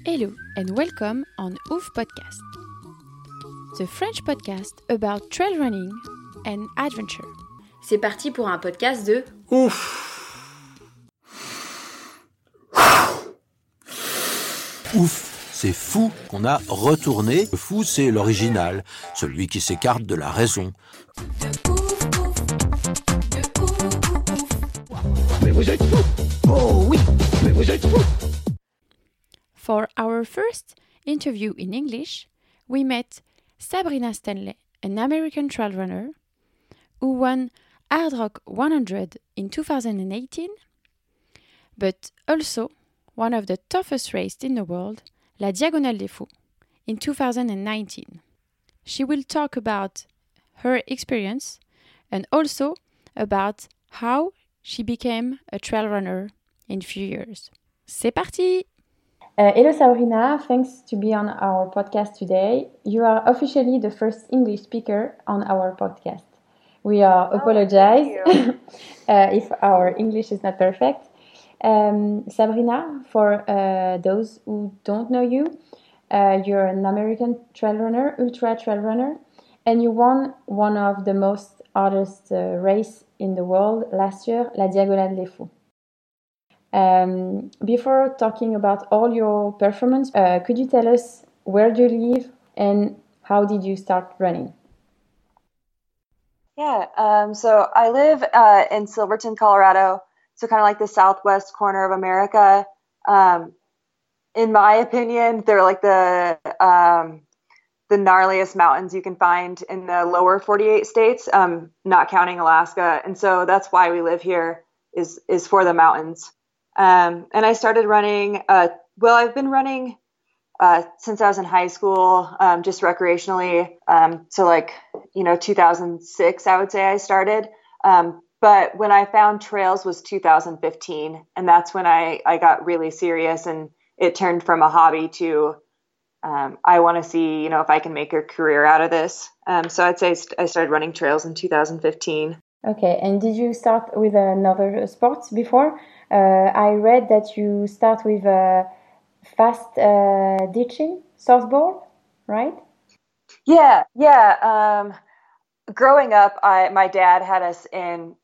Hello and welcome on Ouf Podcast, the French podcast about trail running and adventure. C'est parti pour un podcast de Ouf. Ouf, c'est fou qu'on a retourné. Le fou, c'est l'original, celui qui s'écarte de la raison. Mais vous êtes fou! Oh oui, mais vous êtes fou! For our first interview in English, we met Sabrina Stanley, an American trail runner who won Hard Rock 100 in 2018, but also one of the toughest races in the world, La Diagonale des Fous, in 2019. She will talk about her experience and also about how she became a trail runner in a few years. C'est parti! Hello Sabrina, thanks to be on our podcast today. You are officially the first English speaker on our podcast. We apologize if our English is not perfect. Sabrina, for those who don't know you, you're an American trail runner, ultra trail runner, and you won one of the most hardest race in the world last year, La Diagonale des Fous. Before talking about all your performance, could you tell us where do you live and how did you start running? Yeah, so I live in Silverton, Colorado, so kind of like the southwest corner of America. In my opinion, they're like the gnarliest mountains you can find in the lower 48 states, not counting Alaska. And so that's why we live here is for the mountains. And I started running, I've been running since I was in high school, just recreationally. So 2006, I would say I started. But when I found trails was 2015. And that's when I got really serious and it turned from a hobby to I want to see, if I can make a career out of this. So I'd say I started running trails in 2015. Okay, and did you start with another sport before? I read that you start with fast ditching, softball, right? Yeah. Growing up, my dad had us in,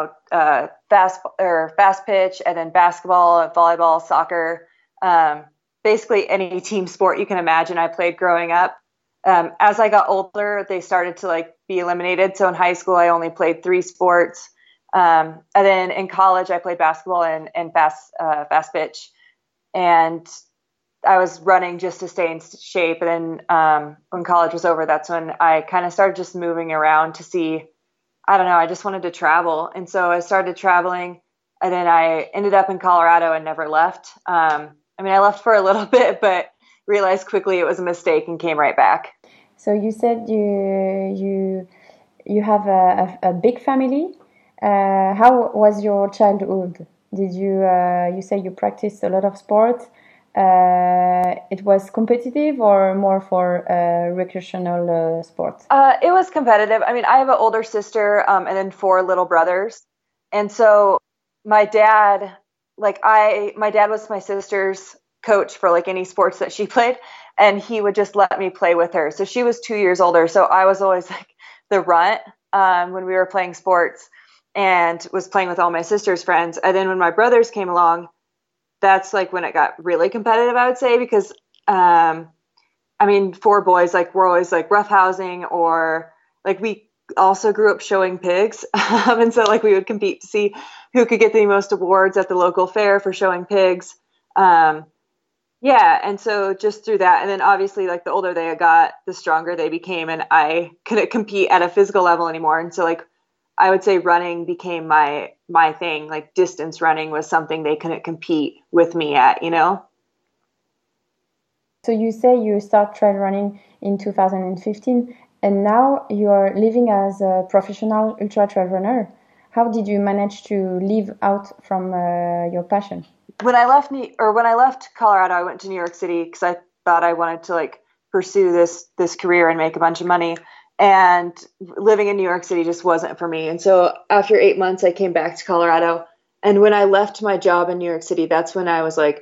fast pitch, and then basketball, volleyball, soccer, basically any team sport you can imagine I played growing up. As I got older, they started to be eliminated. So in high school, I only played 3 sports. And then in college, I played basketball and fast pitch. And I was running just to stay in shape. And then when college was over, that's when I kind of started just moving around to see, I just wanted to travel. And so I started traveling. And then I ended up in Colorado and never left. I left for a little bit, but realized quickly it was a mistake and came right back. So you said you have a big family. How was your childhood? Did you say you practiced a lot of sports? It was competitive or more for recreational sports? It was competitive. I have an older sister and then 4 little brothers. And so my dad was my sister's coach for any sports that she played, and he would just let me play with her. So she was 2 years older. So I was always the runt when we were playing sports and was playing with all my sister's friends. And then when my brothers came along, that's when it got really competitive, I would say, because 4 boys, we're always roughhousing, or we also grew up showing pigs. And so we would compete to see who could get the most awards at the local fair for showing pigs. And so just through that, and then obviously the older they got, the stronger they became, and I couldn't compete at a physical level anymore. And so I would say running became my thing. Distance running was something they couldn't compete with me at, So you say you start trail running in 2015, and now you are living as a professional ultra trail runner. How did you manage to live out from your passion? When I left Colorado, I went to New York City because I thought I wanted to pursue this career and make a bunch of money. And living in New York City just wasn't for me. And so after 8 months, I came back to Colorado. And when I left my job in New York City, that's when I was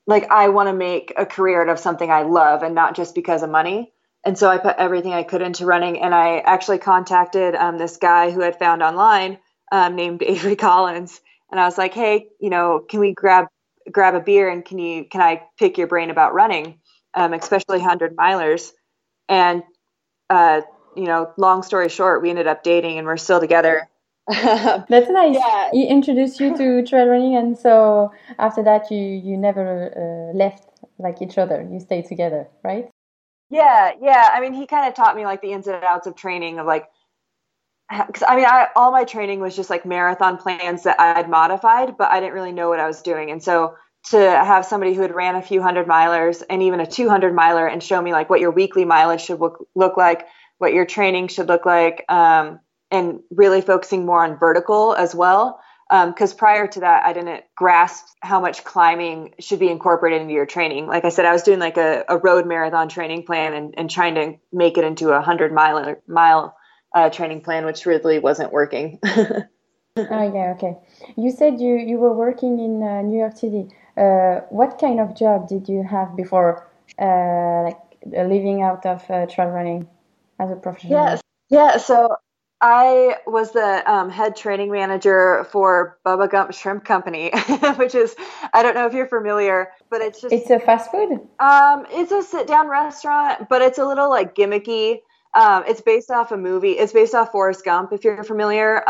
like I want to make a career out of something I love and not just because of money. And so I put everything I could into running, and I actually contacted this guy who I'd found online named Avery Collins, and I was like, hey, can we grab a beer, and can I pick your brain about running, especially 100-milers? And long story short, we ended up dating, and we're still together. That's nice. Yeah. He introduced you to trail running, and so after that, you never left like each other. You stayed together, right? Yeah. I mean, he kind of taught me like the ins and outs of training, of like, because I mean, all my training was just like marathon plans that I had modified, but I didn't really know what I was doing. And so to have somebody who had ran a few 100-milers and even a 200-miler and show me like what your weekly mileage should look like, what your training should look like, and really focusing more on vertical as well. Because prior to that, I didn't grasp how much climbing should be incorporated into your training. Like I said, I was doing like a road marathon training plan and trying to make it into a 100-mile training plan, which really wasn't working. Oh, yeah, okay. You said you were working in New York City. What kind of job did you have before living out of trail running as a professional? Yes. Yeah. So I was the head training manager for Bubba Gump Shrimp Company, which is, I don't know if you're familiar, but it's a fast food? It's a sit-down restaurant, but it's a little like gimmicky. It's based off a movie. It's based off Forrest Gump, if you're familiar.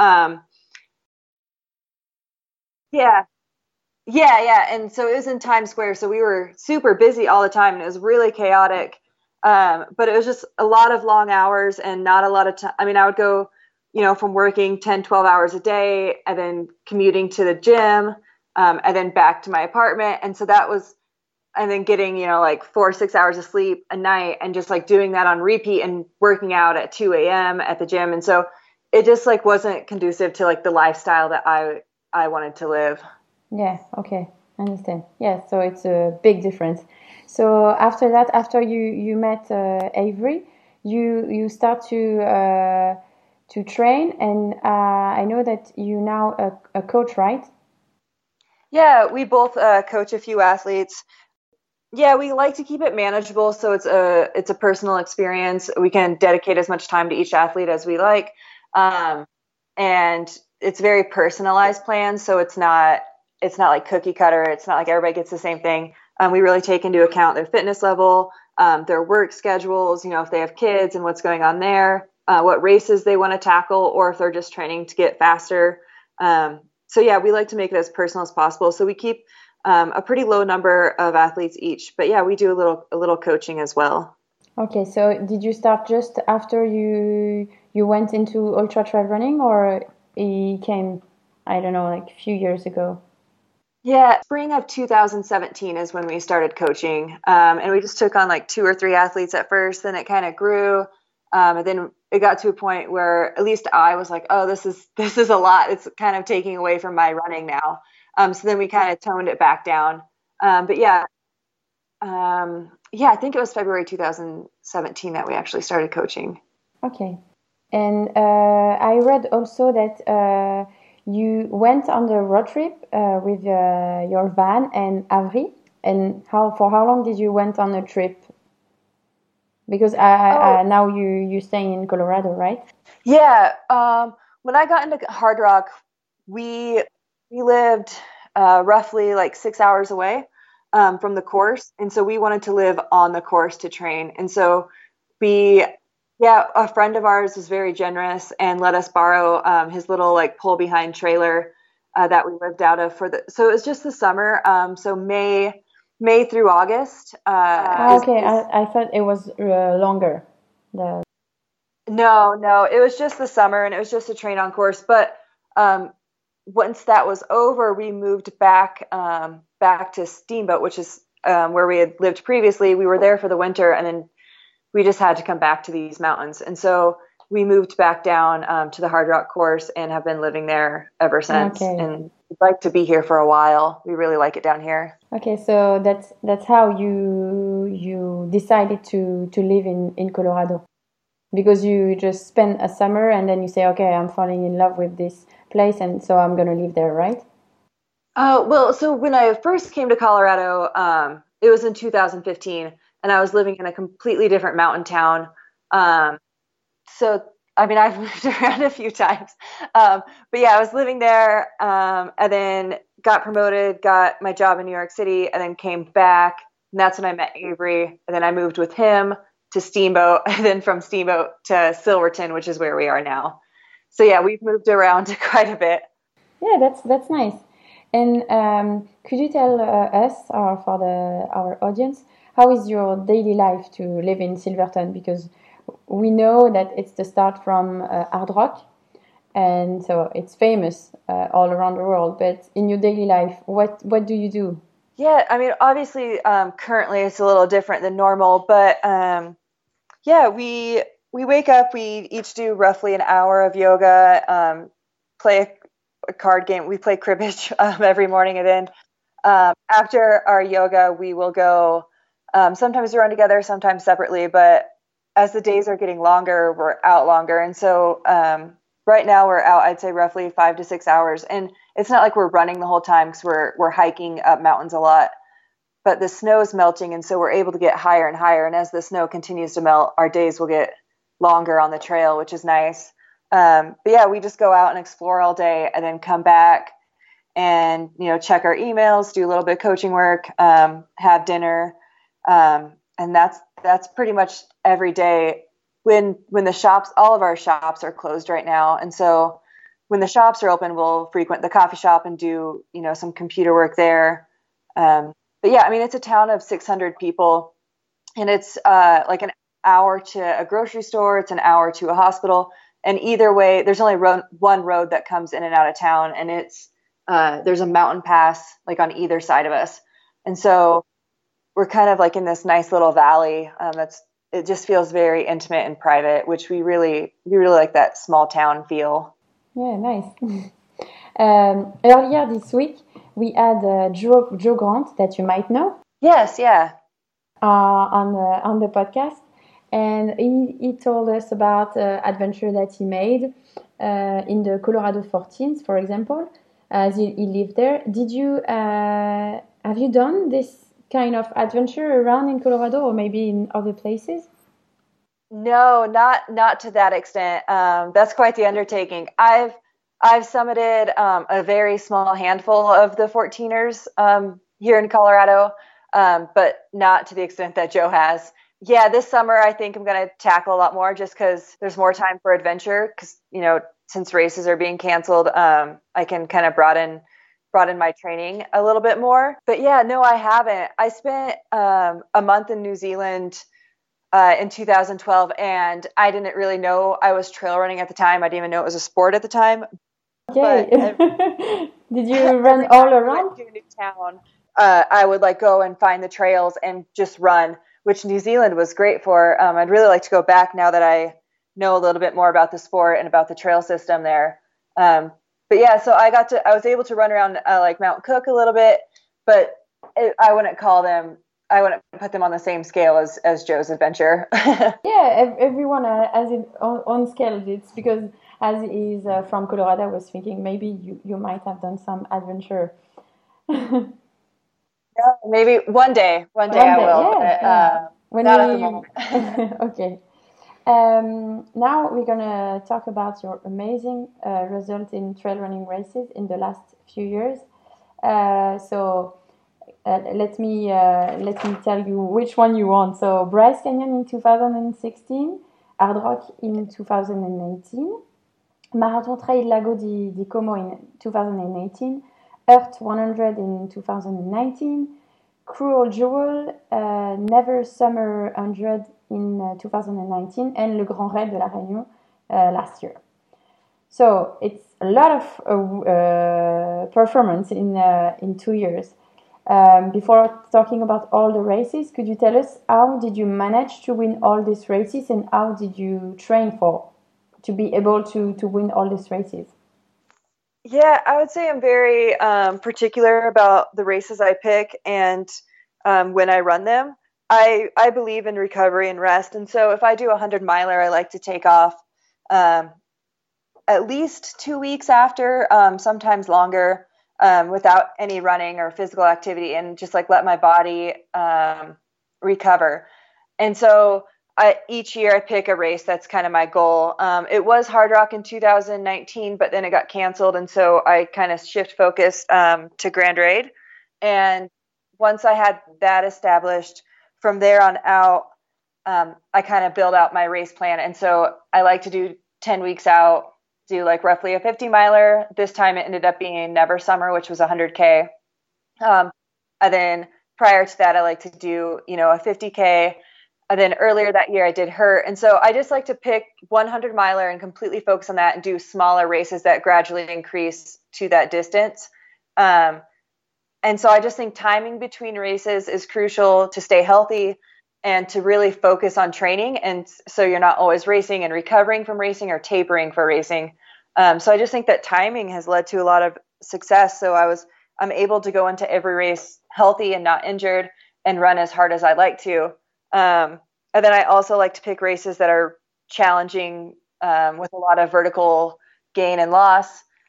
Yeah. And so it was in Times Square. So we were super busy all the time, and it was really chaotic. But it was just a lot of long hours and not a lot of time. I mean, I would go, from working 10, 12 hours a day and then commuting to the gym, and then back to my apartment. And so and then getting, like 4 or 6 hours of sleep a night, and just like doing that on repeat and working out at 2 a.m. at the gym. And so it just like wasn't conducive to like the lifestyle that I wanted to live. Yeah, okay, I understand. Yeah, so it's a big difference. So after that, after you met Avery, you start to train, and I know that you now a coach, right? Yeah, we both coach a few athletes. Yeah, we like to keep it manageable, so it's a personal experience. We can dedicate as much time to each athlete as we like, and it's very personalized plans. So it's not like cookie cutter. It's not like everybody gets the same thing. We really take into account their fitness level, their work schedules, if they have kids and what's going on there, what races they want to tackle, or if they're just training to get faster. So yeah, we like to make it as personal as possible. So we keep a pretty low number of athletes each, but yeah, we do a little coaching as well. Okay, so did you start just after you went into ultra trail running, or it came, I don't know, like a few years ago? Yeah, spring of 2017 is when we started coaching, and we just took on like 2 or 3 athletes at first. Then it kind of grew, and then it got to a point where at least I was like, "Oh, this is a lot. It's kind of taking away from my running now." So then we kind of toned it back down. But yeah, I think it was February 2017 that we actually started coaching. Okay, and I read also that you went on the road trip with your van and Avery, and for how long did you went on a trip? Because now you stay in Colorado, right? Yeah. When I got into Hardrock, we lived roughly like 6 hours away from the course, and so we wanted to live on the course to train. And so a friend of ours was very generous and let us borrow his little like pull behind trailer that we lived out of so it was just the summer. So May through August. Okay, I thought it was longer. No, it was just the summer, and it was just a train on course. But once that was over, we moved back to Steamboat, which is where we had lived previously. We were there for the winter, and then we just had to come back to these mountains. And so we moved back down to the Hardrock course and have been living there ever since. Okay. And we'd like to be here for a while. We really like it down here. Okay, so that's how you decided to live in Colorado, because you just spent a summer and then you say, okay, I'm falling in love with this place, and so I'm gonna live there, right? Well, so when I first came to Colorado, it was in 2015, and I was living in a completely different mountain town. Um, so, I mean, I've moved around a few times. But yeah, I was living there, and then got promoted, got my job in New York City, and then came back. And that's when I met Avery. And then I moved with him to Steamboat, and then from Steamboat to Silverton, which is where we are now. So yeah, we've moved around quite a bit. Yeah, that's nice. And could you tell us, or for our audience, how is your daily life to live in Silverton? Because we know that it's the start from hard rock, and so it's famous all around the world. But in your daily life, what do you do? Yeah, I mean, obviously, currently it's a little different than normal, but yeah, we wake up, we each do roughly an hour of yoga, play a card game. We play cribbage every morning, and then after our yoga, we will go. Sometimes we run together, sometimes separately, but as the days are getting longer, we're out longer, and so right now we're out, I'd say roughly 5 to 6 hours, and it's not like we're running the whole time because we're hiking up mountains a lot, but the snow is melting, and so we're able to get higher and higher. And as the snow continues to melt, our days will get longer on the trail, which is nice. But yeah, we just go out and explore all day, and then come back and check our emails, do a little bit of coaching work, have dinner, and that's pretty much every day. When the shops, all of our shops are closed right now, and so when the shops are open, we'll frequent the coffee shop and do some computer work there. But yeah, I mean, it's a town of 600 people, and it's like an hour to a grocery store, it's an hour to a hospital, and either way, there's only one road that comes in and out of town, and it's there's a mountain pass like on either side of us, and so we're kind of like in this nice little valley. It just feels very intimate and private, which we really like that small town feel. Yeah, nice. Earlier this week, we had Joe Grant, that you might know. Yes, yeah. On the podcast, and he told us about adventure that he made in the Colorado 14th, for example, as he lived there. Did you have you done this kind of adventure around in Colorado, or maybe in other places? No, not to that extent. That's quite the undertaking. I've summited a very small handful of the 14ers here in Colorado, but not to the extent that Joe has. Yeah, this summer I think I'm going to tackle a lot more, just because there's more time for adventure. Because since races are being canceled, I can kind of broaden my training a little bit more. But yeah, no, I haven't. I spent a month in New Zealand in 2012, and I didn't really know I was trail running at the time. I didn't even know it was a sport at the time. Okay. Did you run all around? To a new town, I would go and find the trails and just run, which New Zealand was great for. I'd really like to go back now that I know a little bit more about the sport and about the trail system there. But yeah, so I was able to run around like Mount Cook a little bit, but I wouldn't put them on the same scale as Joe's adventure. Yeah, everyone has its own scale. It's because as he's from Colorado, I was thinking maybe you might have done some adventure. Yeah, maybe one day I will. Yeah, but, not at the moment. Okay. Now we're gonna talk about your amazing result in trail running races in the last few years. So let me tell you which one you want. So Bryce Canyon in 2016, Hard Rock in 2019, Marathon Trail Lago di Como in 2018, Earth 100 in 2019, Cruel Jewel, Never Summer 100 in 2019, and Le Grand Raid de la Réunion last year. So it's a lot of performance in 2 years. Before talking about all the races, could you tell us how did you manage to win all these races, and how did you train to be able to win all these races? Yeah, I would say I'm very particular about the races I pick and when I run them. I believe in recovery and rest, and so if I do a 100-miler, I like to take off at least 2 weeks after, sometimes longer. without any running or physical activity, and just like let my body recover. And so each year I pick a race that's kind of my goal. It was Hard Rock in 2019, but then it got canceled. And so I kind of shift focus to Grand Raid. And once I had that established, from there on out, I kind of build out my race plan. And so I like to do 10 weeks out, do like roughly a 50 miler. This time it ended up being Never Summer, which was 100K. And then prior to that, I like to do, a 50K. And then earlier that year I did Hurt. And so I just like to pick 100 miler and completely focus on that and do smaller races that gradually increase to that distance. And so I just think timing between races is crucial to stay healthy and to really focus on training. And so you're not always racing and recovering from racing or tapering for racing. So I just think that timing has led to a lot of success. So I'm able to go into every race healthy and not injured and run as hard as I like to. And then I also like to pick races that are challenging with a lot of vertical gain and loss,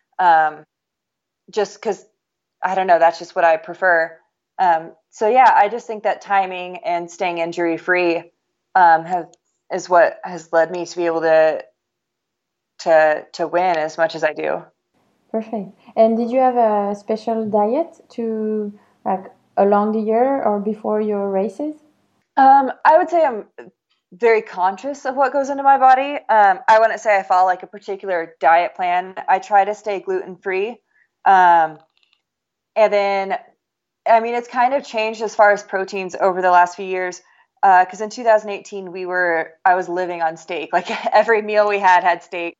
just because, I don't know, that's just what I prefer. So yeah, I just think that timing and staying injury free is what has led me to be able to win as much as I do. Perfect. And did you have a special diet to along the year or before your races? I would say I'm very conscious of what goes into my body. I wouldn't say I follow like a particular diet plan. I try to stay gluten free. And then, I mean, it's kind of changed as far as proteins over the last few years. Because in 2018, I was living on steak. Like every meal we had steak.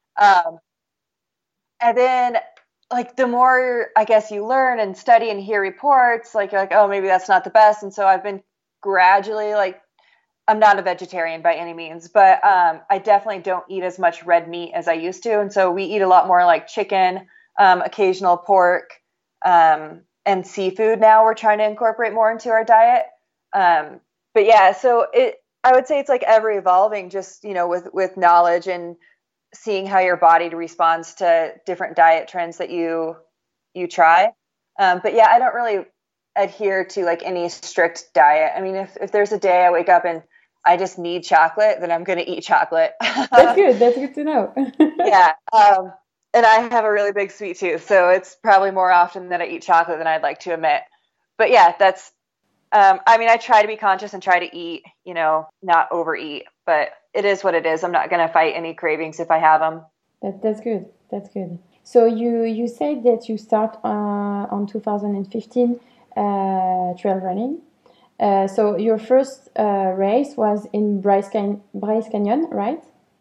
And then like the more, I guess, you learn and study and hear reports, like you're like, oh, maybe that's not the best. And so I've been gradually, like, I'm not a vegetarian by any means, but I definitely don't eat as much red meat as I used to. And so we eat a lot more like chicken, occasional pork, and seafood. Now we're trying to incorporate more into our diet. But yeah, so I would say it's like ever evolving, just, with knowledge and seeing how your body responds to different diet trends that you try. But yeah, I don't really adhere to like any strict diet. I mean, if there's a day I wake up and I just need chocolate, then I'm going to eat chocolate. That's good. That's good to know. Yeah. And I have a really big sweet tooth, so it's probably more often that I eat chocolate than I'd like to admit. But yeah, that's, I mean, I try to be conscious and try to eat, not overeat, but it is what it is. I'm not going to fight any cravings if I have them. That's good. That's good. So you said that you start on 2015 trail running. So your first race was in Bryce Canyon, right?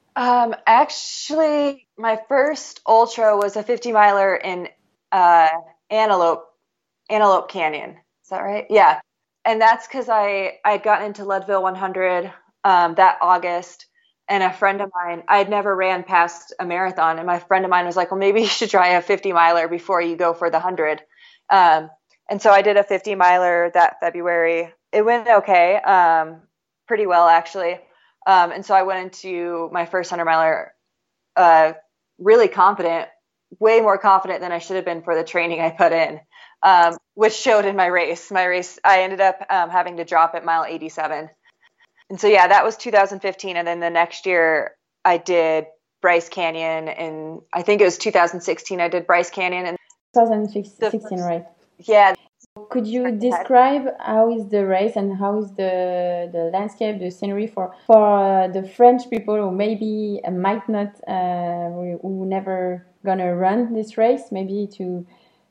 Actually, my first ultra was a 50 miler in Antelope Canyon. Is that right? Yeah. And that's because I had gotten into Leadville 100 that August, and a friend of mine, I had never ran past a marathon, and my friend of mine was like, well, maybe you should try a 50 miler before you go for the 100. And so I did a 50 miler that February. It went okay, pretty well actually. And so I went into my first 100 miler really confident, way more confident than I should have been for the training I put in, which showed in my race. My race, I ended up having to drop at mile 87. And so, yeah, that was 2015. And then the next year I did Bryce Canyon, and I think it was 2016 I did Bryce Canyon. And 2016, right? Yeah. Could you describe how is the race and how is the landscape, the scenery for the French people who maybe might not, who never gonna run this race, maybe to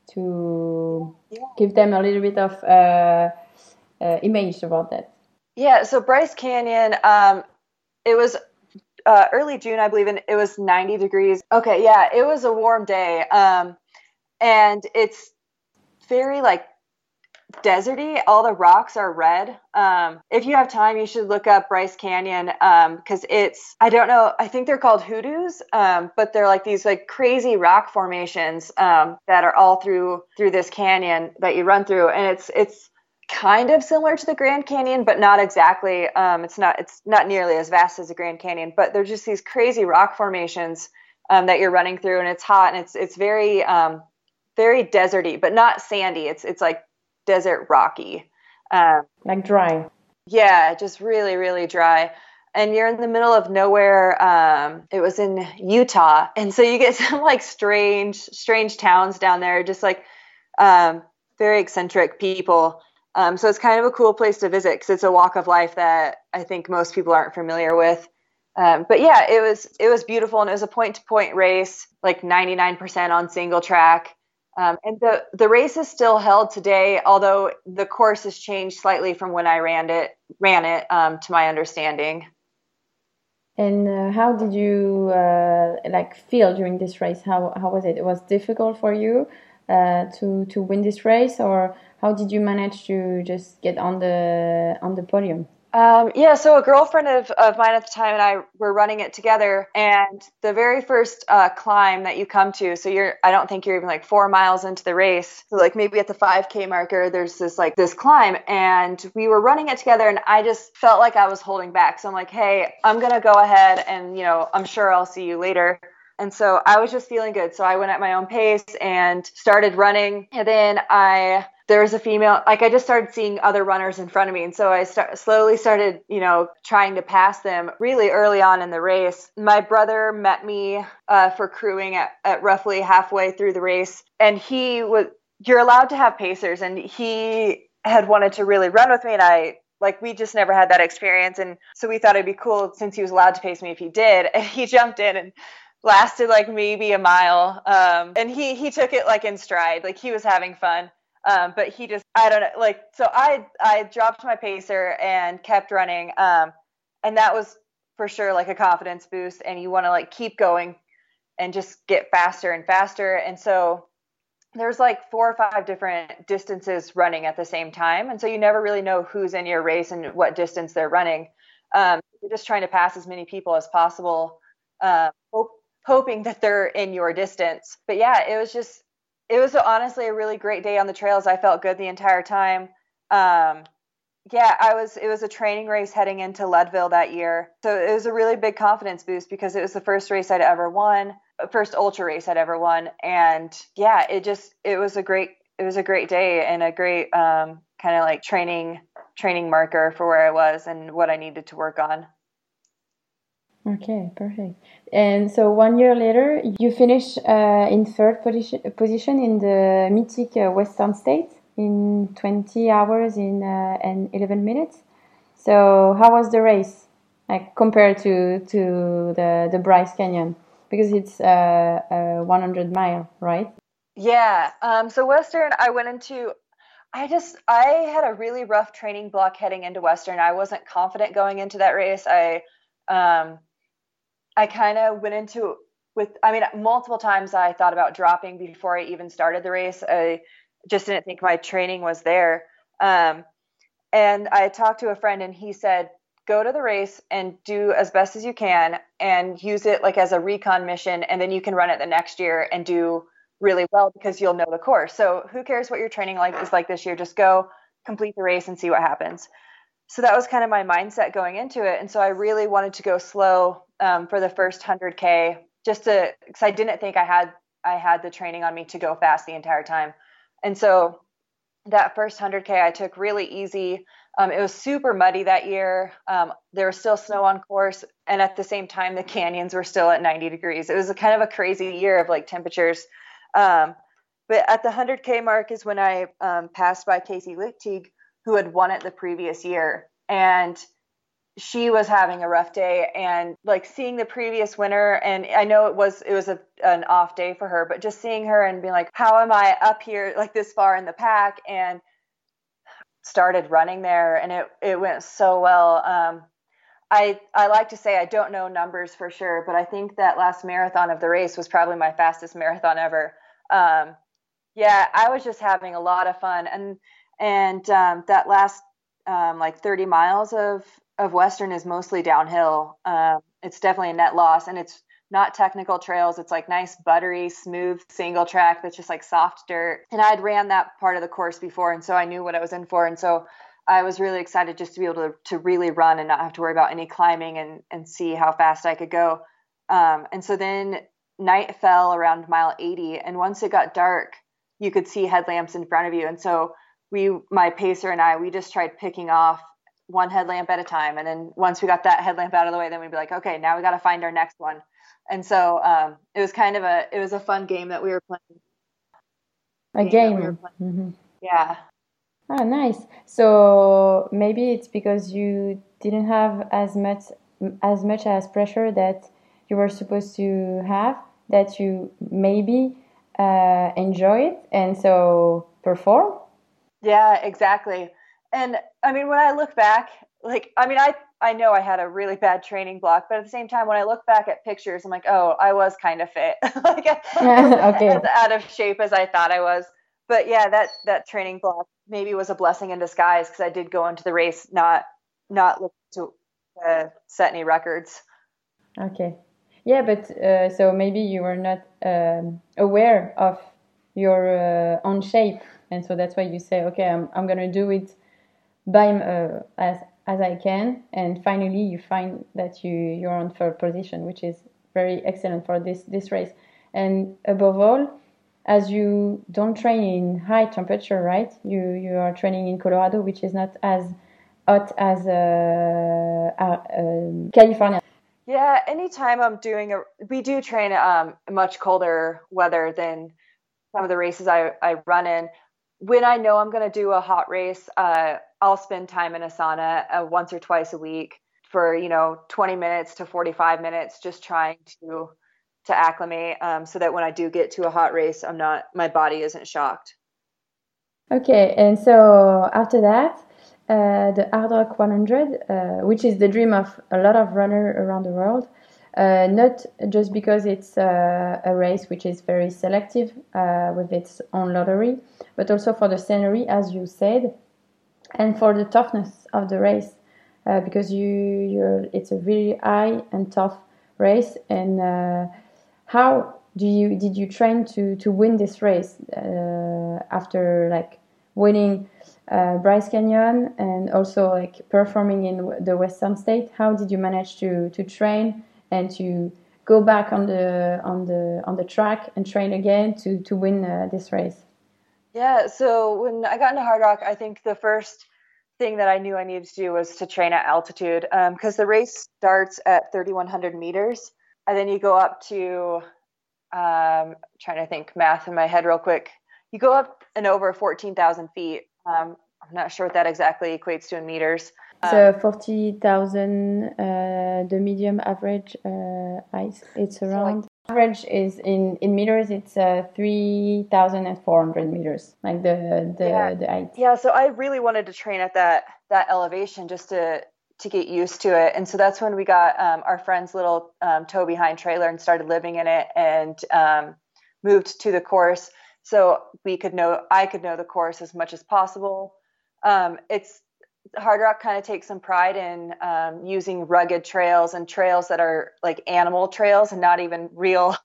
give them a little bit of image about that? Yeah, so Bryce Canyon, it was early June, I believe, and it was 90 degrees. Okay, yeah, it was a warm day, and it's very like deserty. All the rocks are red. If you have time, you should look up Bryce Canyon, because it's, I don't know, I think they're called hoodoos, but they're like these like crazy rock formations that are all through this canyon that you run through, and it's kind of similar to the Grand Canyon, but not exactly. It's not nearly as vast as the Grand Canyon, but they're just these crazy rock formations that you're running through, and it's hot, and it's very very deserty, but not sandy. It's like desert rocky. Like dry. Yeah, just really, really dry. And you're in the middle of nowhere. It was in Utah. And so you get some like strange towns down there, just like very eccentric people. So it's kind of a cool place to visit because it's a walk of life that I think most people aren't familiar with. But yeah, it was beautiful, and it was a point-to-point race, like 99% on single track. And the race is still held today, although the course has changed slightly from when I ran it, to my understanding. And how did you like feel during this race? How was it? It was difficult for you to win this race, or how did you manage to just get on the podium? Yeah, so a girlfriend of mine at the time and I were running it together, and the very first climb that you come to, so I don't think you're even like 4 miles into the race. So like maybe at the 5K marker, there's this climb, and we were running it together, and I just felt like I was holding back. So I'm like, hey, I'm going to go ahead and, I'm sure I'll see you later. And so I was just feeling good. So I went at my own pace and started running. And then there was a female, like I just started seeing other runners in front of me. And so I slowly started, trying to pass them really early on in the race. My brother met me for crewing at roughly halfway through the race. And you're allowed to have pacers. And he had wanted to really run with me. And we just never had that experience. And so we thought it'd be cool since he was allowed to pace me if he did. And he jumped in and lasted like maybe a mile. And he took it like in stride, like he was having fun. But he just, I don't know, so I dropped my pacer and kept running. And that was for sure like a confidence boost, and you want to like keep going and just get faster and faster. And so there's like 4 or 5 different distances running at the same time. And so you never really know who's in your race and what distance they're running. You're just trying to pass as many people as possible, hoping that they're in your distance. But yeah, it was honestly a really great day on the trails. I felt good the entire time. It was a training race heading into Leadville that year. So it was a really big confidence boost because it was the first race I'd ever won, first ultra race I'd ever won. And yeah, it was a great day and a great kind of like training marker for where I was and what I needed to work on. Okay, perfect. And so 1 year later, you finished in third position in the Mythic Western States in 20 hours and 11 minutes. So how was the race, like compared to the Bryce Canyon? Because it's 100 mile, right? Yeah. So Western, I had a really rough training block heading into Western. I wasn't confident going into that race. I kind of went into multiple times I thought about dropping before I even started the race. I just didn't think my training was there. And I talked to a friend, and he said, go to the race and do as best as you can and use it like as a recon mission. And then you can run it the next year and do really well because you'll know the course. So who cares what your training is like this year? Just go complete the race and see what happens. So that was kind of my mindset going into it. And so I really wanted to go slow for the first 100K because I didn't think I had the training on me to go fast the entire time. And so that first 100K I took really easy. It was super muddy that year. There was still snow on course. And at the same time, the canyons were still at 90 degrees. It was a kind of a crazy year of like temperatures. But at the 100K mark is when I passed by Casey Lichtig, who had won it the previous year. And she was having a rough day, and like seeing the previous winner, and I know it was an off day for her, but just seeing her and being like, how am I up here like this far in the pack? And started running there, and it went so well. I like to say I don't know numbers for sure, but I think that last marathon of the race was probably my fastest marathon ever. I was just having a lot of fun, and that last like 30 miles of Western is mostly downhill. It's definitely a net loss, and it's not technical trails. It's like nice, buttery, smooth single track that's just like soft dirt. And I'd ran that part of the course before, and so I knew what I was in for. And so I was really excited just to be able to really run and not have to worry about any climbing and see how fast I could go. And so then night fell around mile 80, and once it got dark, you could see headlamps in front of you. And so my pacer and I, we just tried picking off one headlamp at a time. And then once we got that headlamp out of the way, then we'd be like, okay, now we got to find our next one. And so it was kind of a fun game that we were playing. A game. Mm-hmm. Yeah. Ah, nice. So maybe it's because you didn't have as much as pressure that you were supposed to have, that you maybe enjoy it and so perform. Yeah, exactly. And I mean, when I look back, like, I mean, I know I had a really bad training block, but at the same time, when I look back at pictures, I'm like, oh, I was kind of fit, like Okay. as out of shape as I thought I was. But yeah, that training block maybe was a blessing in disguise, because I did go into the race not looking to set any records. Okay. Yeah, but so maybe you were not aware of your own shape, and so that's why you say, okay, I'm gonna do it by as I can, and finally you find that you're on third position, which is very excellent for this race. And above all, as you don't train in high temperature, right? You are training in Colorado, which is not as hot as California. Yeah, anytime we do train much colder weather than some of the races I run in. When I know I'm going to do a hot race, I'll spend time in a sauna once or twice a week for 20 minutes to 45 minutes, just trying to acclimate, so that when I do get to a hot race, my body isn't shocked. Okay, and so after that, the Hard Rock 100, which is the dream of a lot of runners around the world, not just because it's a race which is very selective with its own lottery, but also for the scenery, as you said, and for the toughness of the race, because it's a really high and tough race. And how did you train to win this race after like winning Bryce Canyon and also like performing in the Western State? How did you manage to train and to go back on the track and train again to win this race? Yeah, so when I got into Hard Rock, I think the first thing that I knew I needed to do was to train at altitude, because the race starts at 3,100 meters, and then you go up to, trying to think math in my head real quick, you go up and over 14,000 feet. I'm not sure what that exactly equates to in meters. So 40,000, the medium average height, it's around. Average is in meters, it's 3,400 meters, like the height. Yeah, so I really wanted to train at that elevation just to get used to it. And so that's when we got our friend's little tow behind trailer and started living in it, and moved to the course so I could know the course as much as possible. Hard Rock kind of takes some pride in using rugged trails and trails that are like animal trails and not even real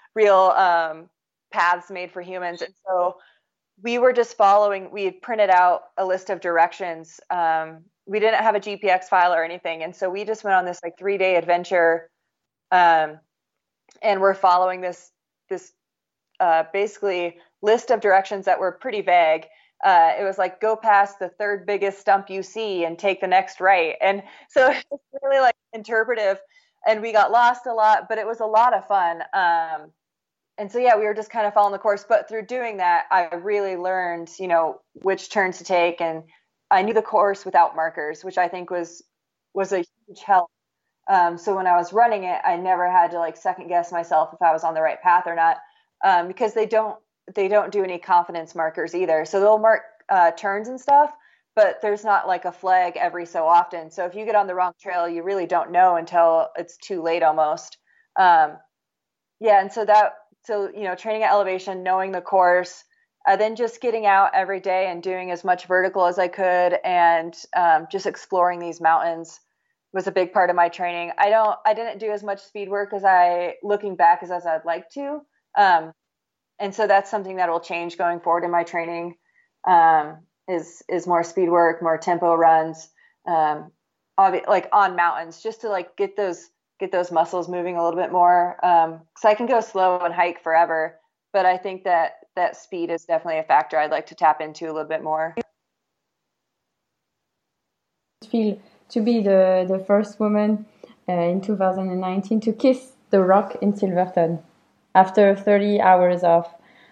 paths made for humans. And so we were just we had printed out a list of directions. We didn't have a GPX file or anything. And so we just went on this like 3-day adventure. And we're following this basically list of directions that were pretty vague. It was like, go past the third biggest stump you see and take the next right. And so it's really like interpretive, and we got lost a lot, but it was a lot of fun. And so, yeah, we were just kind of following the course, but through doing that, I really learned, which turns to take. And I knew the course without markers, which I think was a huge help. So when I was running it, I never had to like second guess myself if I was on the right path or not, because they don't do any confidence markers either. So they'll mark turns and stuff, but there's not like a flag every so often. So if you get on the wrong trail, you really don't know until it's too late almost. Yeah. And so training at elevation, knowing the course, then just getting out every day and doing as much vertical as I could, and just exploring these mountains was a big part of my training. I didn't do as much speed work looking back as I'd like to. And so that's something that will change going forward in my training, is more speed work, more tempo runs, like on mountains, just to like get those muscles moving a little bit more. 'Cause I can go slow and hike forever, but I think that that speed is definitely a factor I'd like to tap into a little bit more. Feel to be the first woman in 2019 to kiss the rock in Silverton after 30 hours of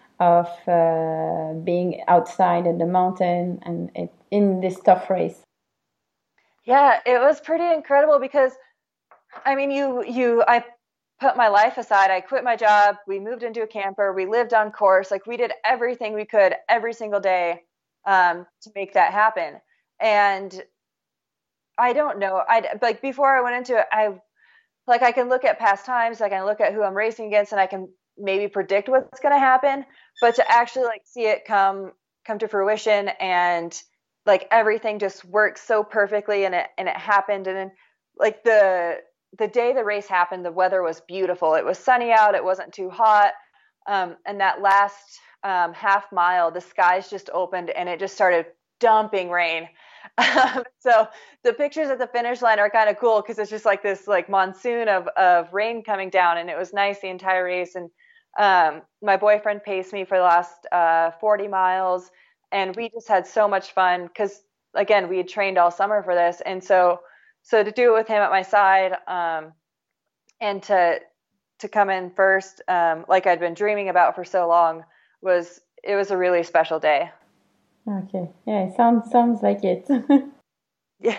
being outside in the mountain and in this tough race. Yeah, it was pretty incredible because, I mean, I put my life aside. I quit my job. We moved into a camper. We lived on course. Like, we did everything we could every single day to make that happen. And I don't know. Like, before I went into it, I can look at past times. I can look at who I'm racing against, and I can maybe predict what's going to happen. But to actually like see it come to fruition, and like everything just worked so perfectly, and it happened. And then like the day the race happened, the weather was beautiful. It was sunny out. It wasn't too hot. And that last half mile, the skies just opened and it just started dumping rain. So the pictures at the finish line are kind of cool because it's just like this like monsoon of rain coming down, and it was nice the entire race. And my boyfriend paced me for the last 40 miles, and we just had so much fun because, again, we had trained all summer for this. And so to do it with him at my side, and to come in first, like I'd been dreaming about for so long, was a really special day. Okay, yeah, it sounds like it. Yeah.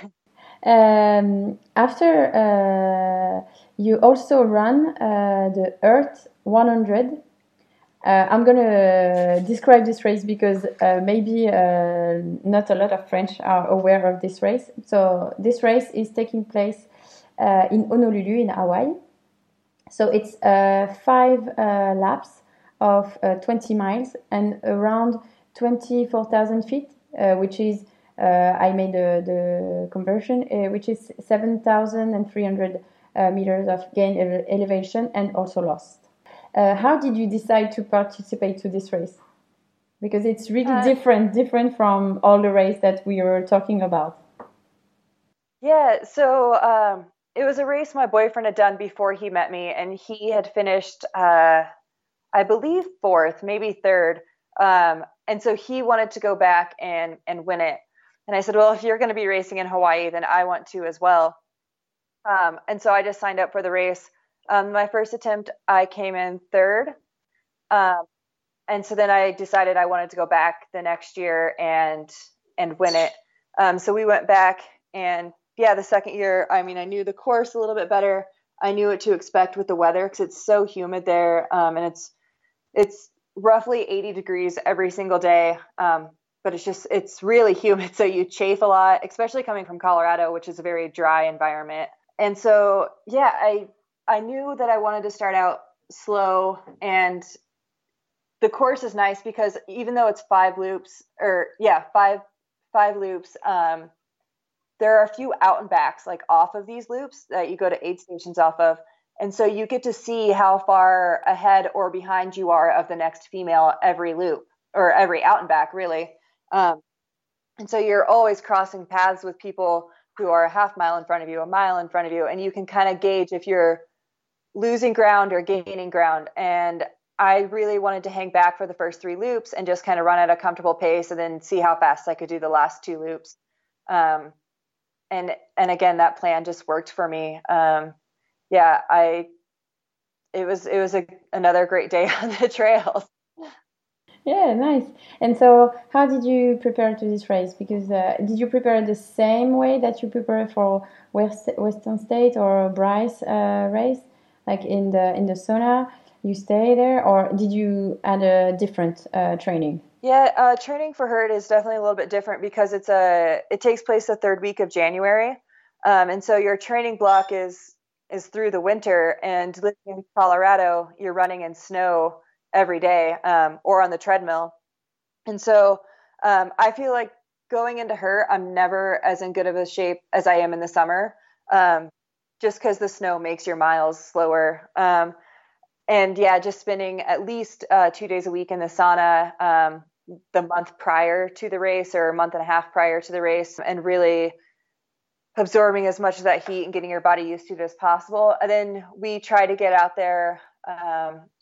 After you also run the Earth 100. I'm gonna describe this race because maybe not a lot of French are aware of this race. So this race is taking place in Honolulu in Hawaii. So it's 5 laps of 20 miles and around 24,000 feet, which is, I made the conversion, which is 7,300 meters of gain elevation and also lost. How did you decide to participate to this race? Because it's really different from all the race that we were talking about. Yeah, so it was a race my boyfriend had done before he met me, and he had finished, I believe, 4th, maybe 3rd. And so he wanted to go back and win it. And I said, well, if you're going to be racing in Hawaii, then I want to as well. And so I just signed up for the race. My first attempt, I came in 3rd. And so then I decided I wanted to go back the next year and win it. So we went back, and yeah, the second year, I mean, I knew the course a little bit better. I knew what to expect with the weather because it's so humid there. And it's roughly 80 degrees every single day. But it's really humid. So you chafe a lot, especially coming from Colorado, which is a very dry environment. And so, yeah, I knew that I wanted to start out slow, and the course is nice because even though it's 5 loops, five loops, there are a few out and backs like off of these loops that you go to aid stations off of. And so you get to see how far ahead or behind you are of the next female every loop, or every out and back, really. And so you're always crossing paths with people who are a half mile in front of you, a mile in front of you, and you can kind of gauge if you're losing ground or gaining ground. And I really wanted to hang back for the first 3 loops and just kind of run at a comfortable pace and then see how fast I could do the last 2 loops. And again, that plan just worked for me. It was another great day on the trails. Yeah, nice. And so how did you prepare to this race? Because did you prepare the same way that you prepare for Western State or Bryce race? Like in the sauna, you stay there, or did you add a different training? Yeah, training for Herd is definitely a little bit different because it takes place the 3rd week of January. And so your training block is through the winter, and living in Colorado, you're running in snow every day, or on the treadmill. And so I feel like going into Herd, I'm never as in good of a shape as I am in the summer, just because the snow makes your miles slower. And yeah, just spending at least 2 days a week in the sauna the month prior to the race, or a month and a half prior to the race, and really absorbing as much of that heat and getting your body used to it as possible. And then we try to get out there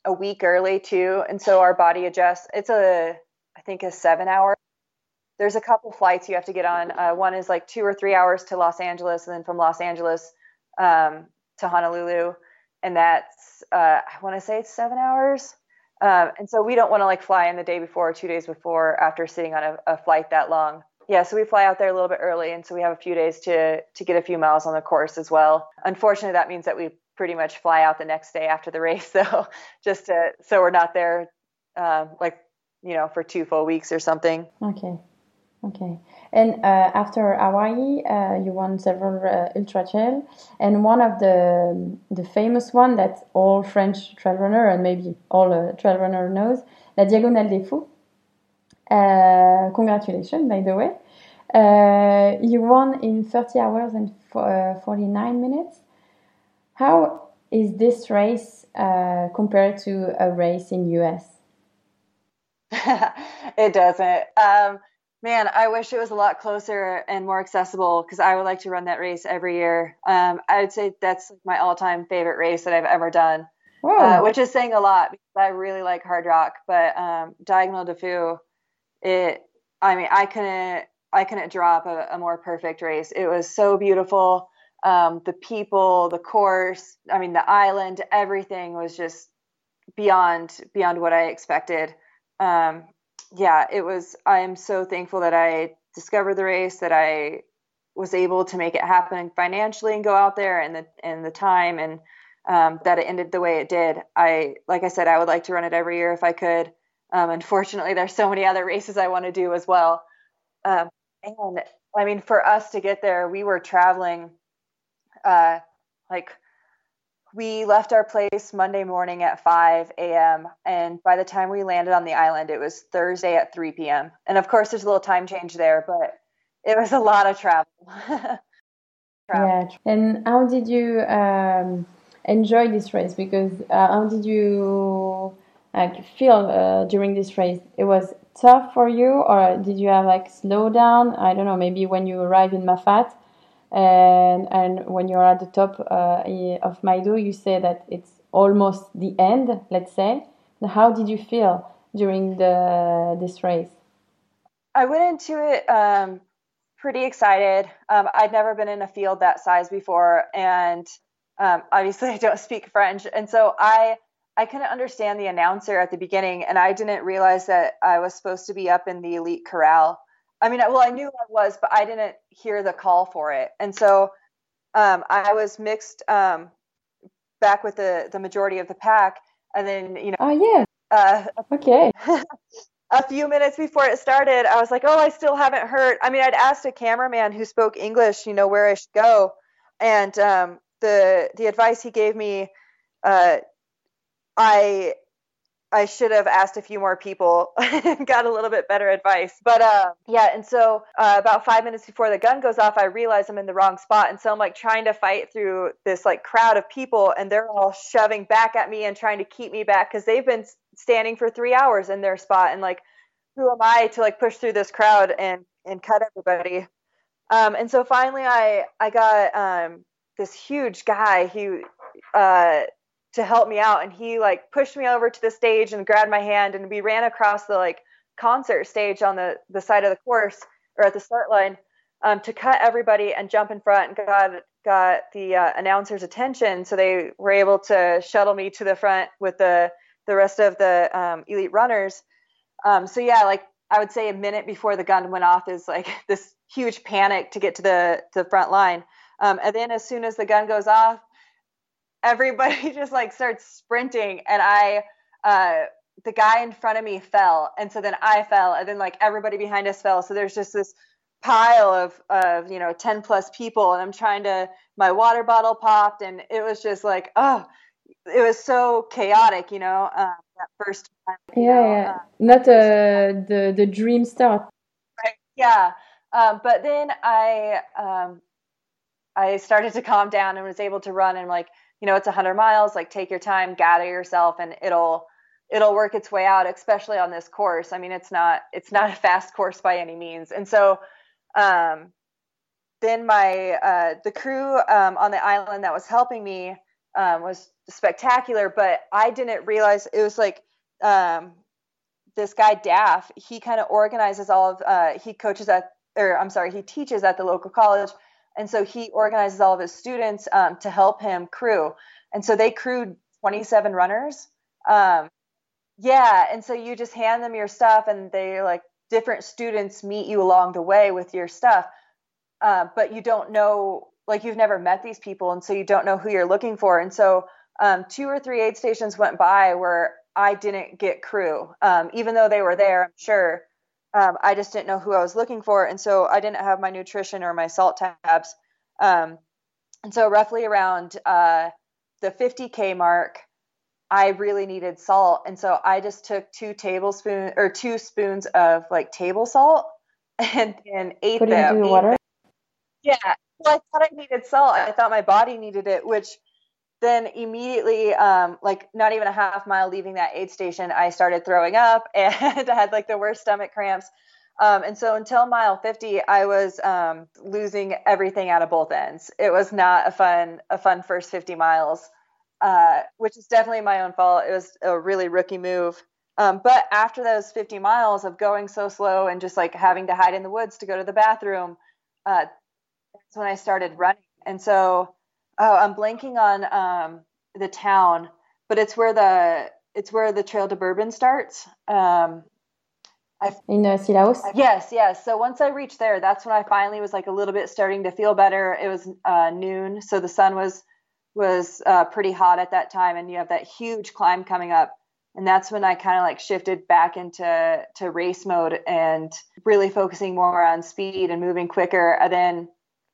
a week early too, and so our body adjusts. I think a 7 hour. There's a couple flights you have to get on. One is like 2 or 3 hours to Los Angeles, and then from Los Angeles to Honolulu, and that's I want to say it's 7 hours. And so we don't want to like fly in the day before or 2 days before after sitting on a flight that long. Yeah, so we fly out there a little bit early, and so we have a few days to get a few miles on the course as well. Unfortunately, that means that we pretty much fly out the next day after the race, though, so we're not there for 2 full weeks or something. Okay. And after Hawaii, you won several ultra trail, and one of the famous one that all French trail runner and maybe all trail runner knows, La Diagonale des Fous. Congratulations, by the way. You won in 30 hours and 49 minutes. How is this race compared to a race in US? It doesn't. Man, I wish it was a lot closer and more accessible because I would like to run that race every year. I would say that's my all-time favorite race that I've ever done, which is saying a lot because I really like hard rock. But Diagonale des Fous, I couldn't drop a more perfect race. It was so beautiful. The people, the course, the island, everything was just beyond what I expected. It was. I am so thankful that I discovered the race, that I was able to make it happen financially and go out there and the time, and that it ended the way it did. Like I said, I would like to run it every year if I could. Unfortunately, there's so many other races I want to do as well. And for us to get there, we were traveling, we left our place Monday morning at 5 a.m. And by the time we landed on the island, it was Thursday at 3 p.m. And of course, there's a little time change there, but it was a lot of travel. Yeah. And how did you enjoy this race? Because how did you feel during this race? It was tough for you, or did you have slow down? I don't know, maybe when you arrived in Mafat and when you're at the top of Maidu, you say that it's almost the end, let's say. How did you feel during this race? I went into it pretty excited. I'd never been in a field that size before, and obviously I don't speak French, and so I couldn't understand the announcer at the beginning, and I didn't realize that I was supposed to be up in the elite corral. I knew I was, but I didn't hear the call for it, and so I was mixed back with the majority of the pack, and then Oh yeah. Okay. A few minutes before it started, I was like, oh, I still haven't heard. I'd asked a cameraman who spoke English, where I should go. And the advice he gave me, I should have asked a few more people and got a little bit better advice. But and so about 5 minutes before the gun goes off, I realize I'm in the wrong spot. And so I'm trying to fight through this crowd of people, and they're all shoving back at me and trying to keep me back because they've been standing for 3 hours in their spot. And who am I to push through this crowd and cut everybody? And so finally I got this huge guy who to help me out, and he pushed me over to the stage and grabbed my hand, and we ran across the concert stage on the side of the course, or at the start line, to cut everybody and jump in front, and got the announcer's attention, so they were able to shuttle me to the front with the rest of the elite runners. I would say a minute before the gun went off is this huge panic to get to the front line, and then as soon as the gun goes off, everybody just starts sprinting, and the guy in front of me fell, and so then I fell, and then everybody behind us fell. So there's just this pile of 10 plus people, and I'm trying to, my water bottle popped, and it was just it was so chaotic, that first time. Yeah. Not the dream start. Right. Yeah. But then I started to calm down and was able to run, and it's 100 miles, take your time, gather yourself, and it'll work its way out, especially on this course. It's not a fast course by any means. And so then the crew on the island that was helping me was spectacular, but I didn't realize it was like this guy Daff. He kind of organizes all of he teaches at the local college, and so he organizes all of his students to help him crew, and so they crewed 27 runners. Yeah, and so you just hand them your stuff, and they like different students meet you along the way with your stuff, but you don't know, like you've never met these people, and so you don't know who you're looking for. And so 2 or 3 aid stations went by where I didn't get crew, even though they were there, I'm sure. I just didn't know who I was looking for, and so I didn't have my nutrition or my salt tabs. And so roughly around the 50K mark, I really needed salt, and so I just took 2 spoons of like table salt and ate Put it them. into the water? Yeah, well, I thought I needed salt. I thought my body needed it, which then immediately, like not even a half mile leaving that aid station, I started throwing up and I had like the worst stomach cramps. And so until mile 50, I was losing everything out of both ends. It was not a fun first 50 miles. Which is definitely my own fault. It was a really rookie move. But after those 50 miles of going so slow and just like having to hide in the woods to go to the bathroom, that's when I started running. And so, I'm blanking on the town, but it's where the Trail to Bourbon starts. In Sillaos? Yes. So once I reached there, that's when I finally was like a little bit starting to feel better. It was noon, so the sun was pretty hot at that time, and you have that huge climb coming up, and that's when I kind of like shifted back into race mode and really focusing more on speed and moving quicker. And then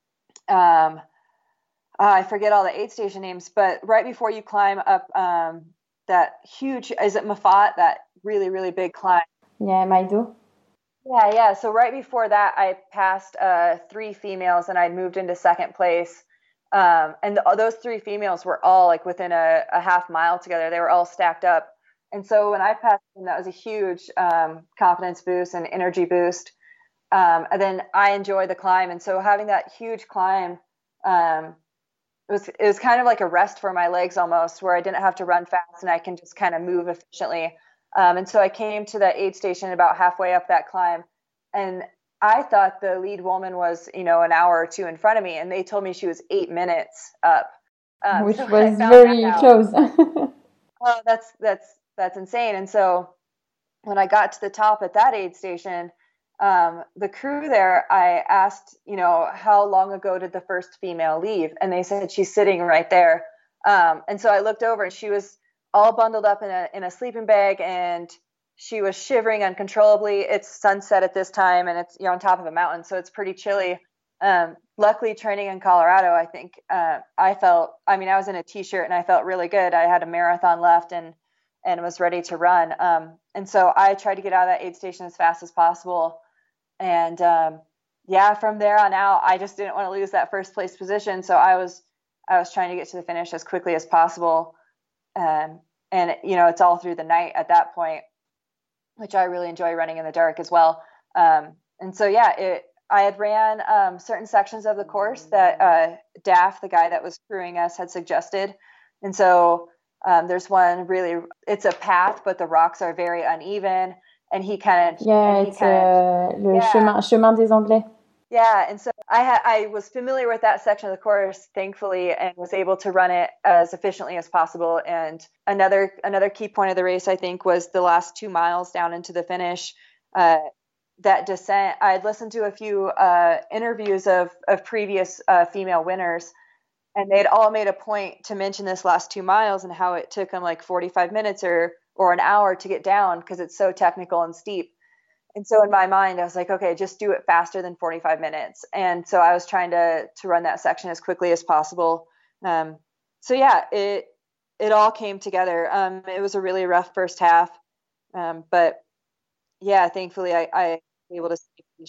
I forget all the aid station names, but right before you climb up that huge, is it Mafat, that really, really big climb? Yeah, Maido. Yeah. So right before that, I passed 3 females, and I'd moved into second place. And those 3 females were all like within a half mile together. They were all stacked up. And so when I passed them, that was a huge confidence boost and energy boost. And then I enjoyed the climb. And so having that huge climb, it was kind of like a rest for my legs almost, where I didn't have to run fast and I can just kind of move efficiently. And so I came to the aid station about halfway up that climb, and I thought the lead woman was, an hour or 2 in front of me, and they told me she was 8 minutes up, which so was very close. Oh, that's insane. And so when I got to the top at that aid station, the crew there, I asked, how long ago did the first female leave? And they said she's sitting right there. And so I looked over, and she was all bundled up in a sleeping bag, and she was shivering uncontrollably. It's sunset at this time, and you're on top of a mountain, so it's pretty chilly. Luckily, training in Colorado, I think I was in a t-shirt and I felt really good. I had a marathon left and was ready to run. And so I tried to get out of that aid station as fast as possible. And from there on out, I just didn't want to lose that first place position. So I was trying to get to the finish as quickly as possible. And it's all through the night at that point, which I really enjoy running in the dark as well. And so, I had ran certain sections of the course that Daff, the guy that was crewing us, had suggested. And so there's one really, it's a path, but the rocks are very uneven. And he kind of... Yeah, it's le chemin des Anglais. Yeah, and so I was familiar with that section of the course, thankfully, and was able to run it as efficiently as possible. And another key point of the race, I think, was the last 2 miles down into the finish. That descent, I had listened to a few interviews of previous female winners, and they'd all made a point to mention this last 2 miles and how it took them like 45 minutes or an hour to get down because it's so technical and steep. And so in my mind, I was like, okay, just do it faster than 45 minutes. And so I was trying to run that section as quickly as possible. It all came together. It was a really rough first half. But thankfully I was able to.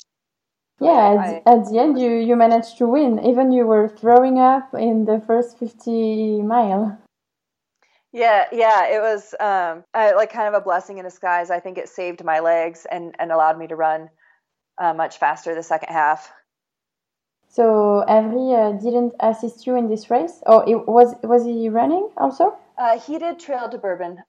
At the end, you managed to win. Even you were throwing up in the first 50 mile. Yeah, it was like kind of a blessing in disguise. I think it saved my legs and allowed me to run much faster the second half. So Avery didn't assist you in this race, or was he running also? He did Trail to Bourbon.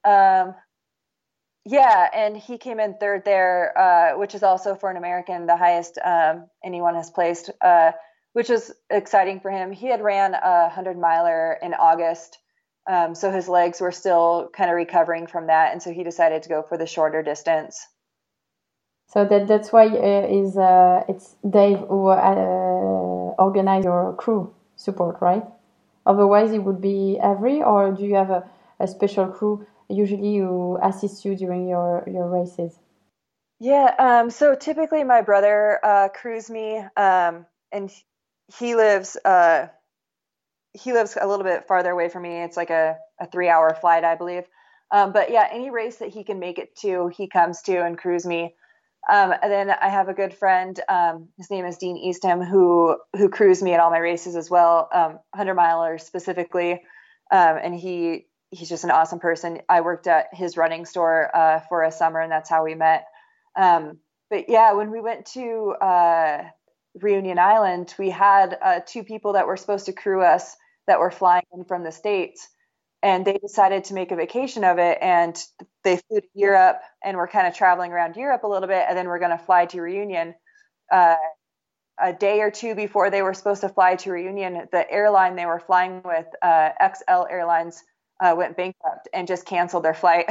Yeah, and he came in third there, which is also for an American the highest anyone has placed, which is exciting for him. He had ran a 100-miler in August, so his legs were still kind of recovering from that, and so he decided to go for the shorter distance. So that's why it's Dave who organized your crew support, right? Otherwise, it would be Avery, or do you have a special crew usually who assists you during your races? Yeah, so typically my brother crews me, and he lives a little bit farther away from me. It's like a 3-hour flight, I believe. But yeah, any race that he can make it to, he comes to and crews me. And then I have a good friend, his name is Dean Eastham, who crews me at all my races as well, 100-milers specifically. And he's just an awesome person. I worked at his running store for a summer, and that's how we met. But yeah, when we went to Reunion Island, we had 2 people that were supposed to crew us that were flying in from the States. And they decided to make a vacation of it, and they flew to Europe, and we're kind of traveling around Europe a little bit, and then we're going to fly to Reunion. A day or 2 before they were supposed to fly to Reunion, the airline they were flying with, XL Airlines, went bankrupt and just canceled their flight.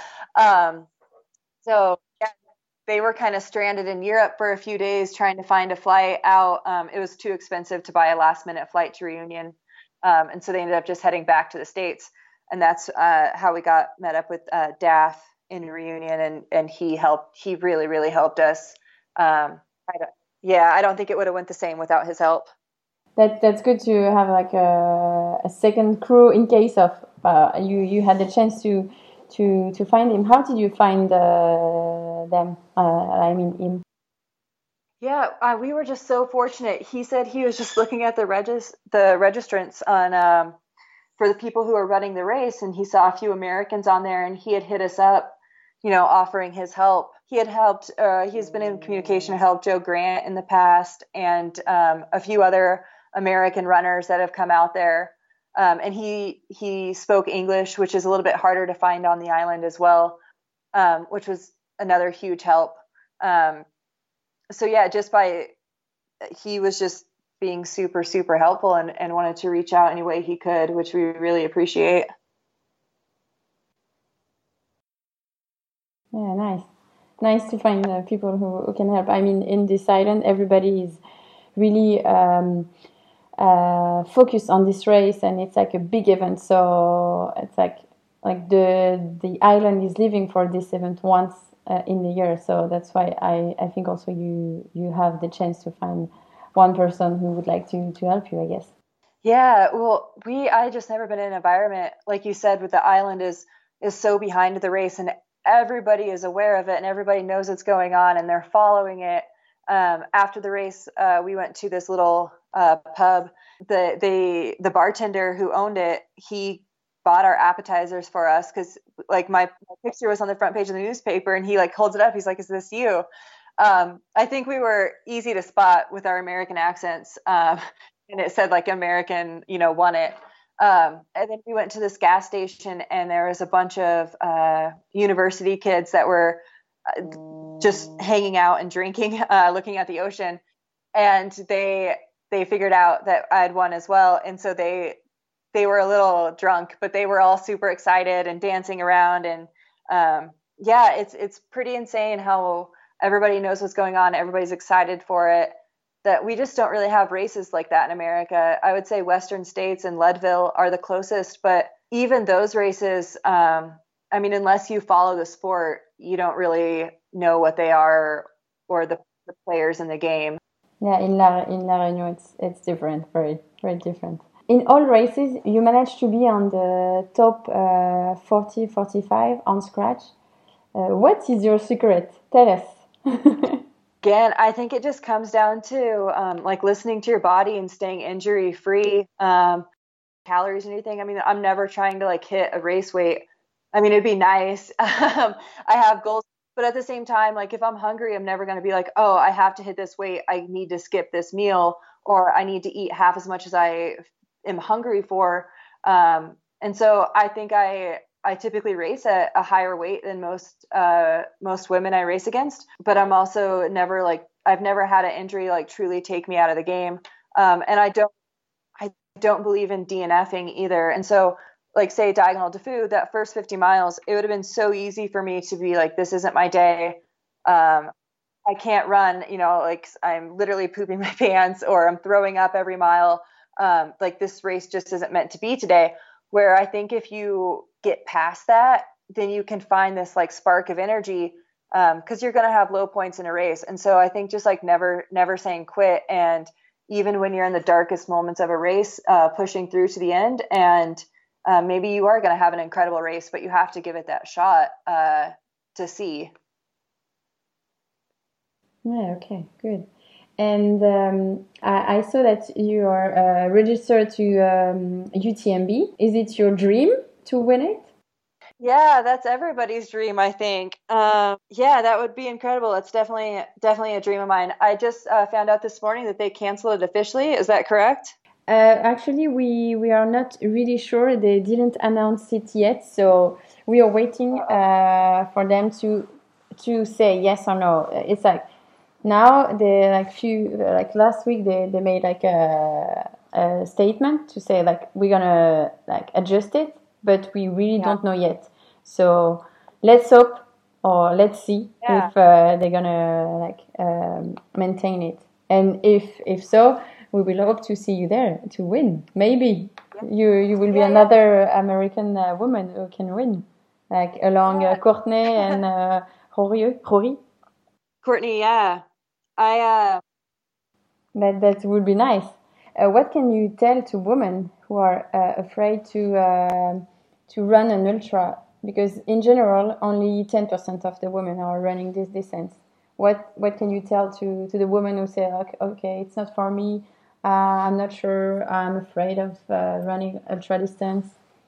So yeah, they were kind of stranded in Europe for a few days trying to find a flight out. It was too expensive to buy a last-minute flight to Reunion. And so they ended up just heading back to the States. And that's how we met up with Daff in Reunion. And he really, really helped us. I don't think it would have went the same without his help. That's good to have like a second crew in case of you had the chance to find him. How did you find them? I mean him. Yeah, we were just so fortunate. He said he was just looking at the registrants on for the people who are running the race, and he saw a few Americans on there, and he had hit us up, offering his help. He had helped. He's been in communication to help Joe Grant in the past, and a few other American runners that have come out there. And he spoke English, which is a little bit harder to find on the island as well, which was another huge help. So yeah, he was just being super, super helpful and wanted to reach out any way he could, which we really appreciate. Yeah, nice to find people who can help. I mean, in this island, everybody is really focused on this race, and it's like a big event. So it's like the island is living for this event once in the year. So that's why I think also you have the chance to find one person who would like to help you, I guess. Yeah, well, I just never been in an environment like you said, with the island is so behind the race, and everybody is aware of it, and everybody knows what's going on, and they're following it. After the race, we went to this little pub. The bartender who owned it, he bought our appetizers for us because like my picture was on the front page of the newspaper, and he like holds it up. He's like, "Is this you?" I think we were easy to spot with our American accents, and it said like American, won it. And then we went to this gas station, and there was a bunch of university kids that were just hanging out and drinking, looking at the ocean, and they figured out that I had won as well, and so they were a little drunk, but they were all super excited and dancing around, and yeah, it's pretty insane how everybody knows what's going on. Everybody's excited for it. That we just don't really have races like that in America. I would say Western States and Leadville are the closest, but even those races, I mean, unless you follow the sport, you don't really know what they are or the players in the game. Yeah, in La Réunion, it's different, very, very different. In all races, you managed to be on the top 40, 45 on scratch. What is your secret? Tell us. Again, I think it just comes down to like listening to your body and staying injury free, calories and anything. I mean, I'm never trying to like hit a race weight. I mean, it'd be nice. I have goals, but at the same time, like if I'm hungry, I'm never going to be like, oh, I have to hit this weight. I need to skip this meal, or I need to eat half as much as I am hungry for. And so I think I typically race at a higher weight than most women I race against, but I'm also I've never had an injury like truly take me out of the game. And I don't believe in DNFing either. And so like say Diagonal des Fous, that first 50 miles, it would have been so easy for me to be like, this isn't my day. I can't run, like I'm literally pooping my pants or I'm throwing up every mile. Like this race just isn't meant to be today. Where I think if you get past that, then you can find this like spark of energy, because you're going to have low points in a race. And so I think just like never saying quit. And even when you're in the darkest moments of a race, pushing through to the end, and maybe you are going to have an incredible race, but you have to give it that shot to see. Yeah, okay, good. And I saw that you are registered to UTMB. Is it your dream to win it? Yeah, that's everybody's dream, I think. Yeah, that would be incredible. It's definitely a dream of mine. I just found out this morning that they canceled it officially. Is that correct? Actually, we are not really sure. They didn't announce it yet, so we are waiting for them to say yes or no. It's like now they last week they made like a statement to say like we're gonna like adjust it, but we really don't know yet. So let's hope or let's see if they're gonna like maintain it, and if so, we will hope to see you there to win. Maybe you will be another American woman who can win, like along Courtney and Rory. Courtney, yeah. That would be nice. What can you tell to women who are afraid to run an ultra? Because in general, only 10% of the women are running this distance. What can you tell to the women who say, okay, it's not for me, I'm not sure, I'm afraid of running ultra distance?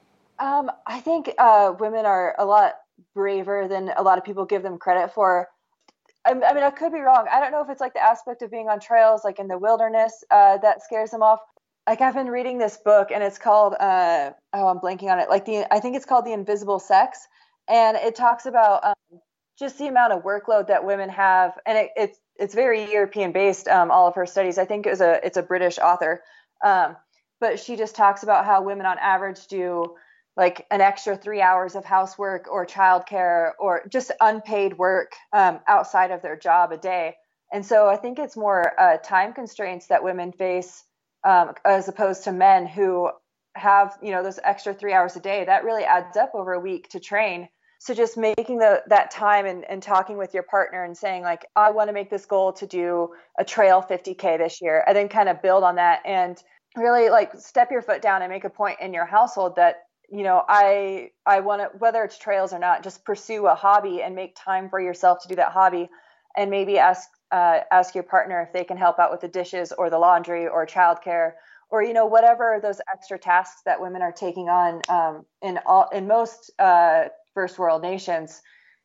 I think women are a lot braver than a lot of people give them credit for. I mean, I could be wrong. I don't know if it's like the aspect of being on trails, like in the wilderness, that scares them off. Like I've been reading this book, and it's called I'm blanking on it. I think it's called The Invisible Sex, and it talks about just the amount of workload that women have, and it's very European based. All of her studies, I think it's a British author, but she just talks about how women on average do like an extra 3 hours of housework or childcare or just unpaid work outside of their job a day. And so I think it's more time constraints that women face as opposed to men who have, those extra 3 hours a day. That really adds up over a week to train. So just making that time and talking with your partner and saying like, I want to make this goal to do a trail 50K this year, and then kind of build on that and really like step your foot down and make a point in your household that, I want to, whether it's trails or not, just pursue a hobby and make time for yourself to do that hobby, and maybe ask your partner if they can help out with the dishes or the laundry or childcare or, whatever those extra tasks that women are taking on in most first world nations.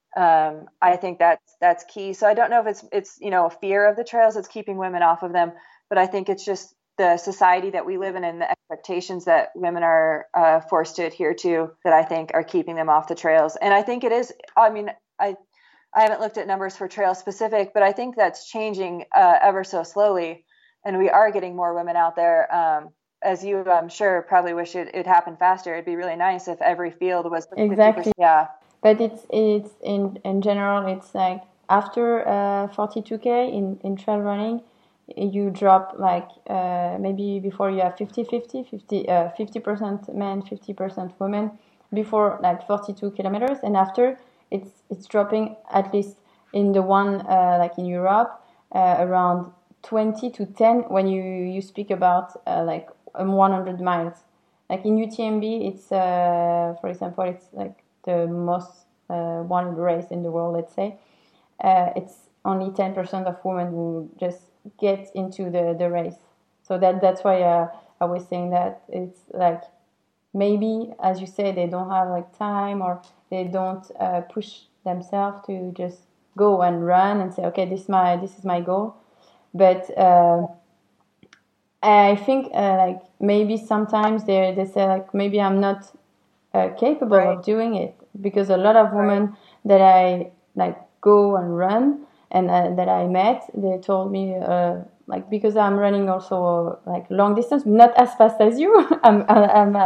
I think that's key. So I don't know if it's fear of the trails that's keeping women off of them, but I think it's just the society that we live in and the expectations that women are forced to adhere to that I think are keeping them off the trails. And I think it is, I mean, I haven't looked at numbers for trail specific, but I think that's changing ever so slowly. And we are getting more women out there. As you, I'm sure, probably wish it happened faster. It'd be really nice if every field was 50%. Exactly. Yeah. But it's in general, it's like after 42K in trail running, you drop like maybe before you have 50% men, 50% women before like 42 kilometers, and after it's dropping at least in the one like in Europe around 20 to 10 when you speak about like 100 miles. Like in UTMB, it's for example, it's like the most wanted race in the world, let's say. It's only 10% of women who just get into the race. So that's why I was saying that it's like maybe, as you say, they don't have like time or they don't push themselves to just go and run and say, okay, this is my goal. But I think like maybe sometimes they say like maybe I'm not capable Right. of doing it, because a lot of women that I like go and run and that I met, they told me like, because I'm running also like long distance, not as fast as you. I'm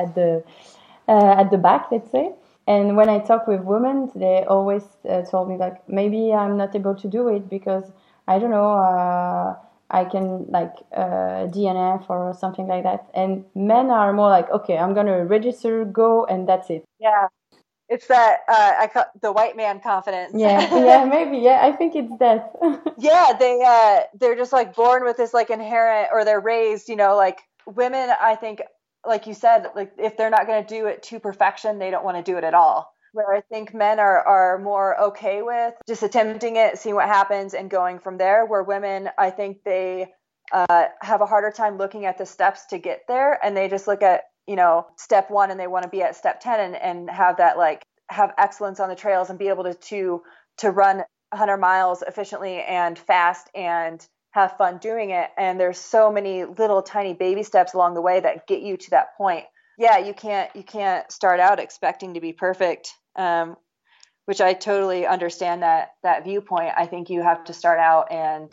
at the back, let's say. And when I talk with women, they always told me like, maybe I'm not able to do it because I don't know, I can like DNF or something like that. And men are more like, okay, I'm gonna register, go, and that's it. Yeah. It's that I call the white man confidence. Yeah, maybe. Yeah, I think it's that. Yeah, they're just like born with this like inherent, or they're raised, like women, I think, like you said, like if they're not going to do it to perfection, they don't want to do it at all. Where I think men are more okay with just attempting it, seeing what happens, and going from there. Where women, I think they have a harder time looking at the steps to get there, and they just look at step one, and they want to be at step 10 and have that like have excellence on the trails and be able to run 100 miles efficiently and fast and have fun doing it. And there's so many little tiny baby steps along the way that get you to that point. Yeah, you can't start out expecting to be perfect, which I totally understand that viewpoint. I think you have to start out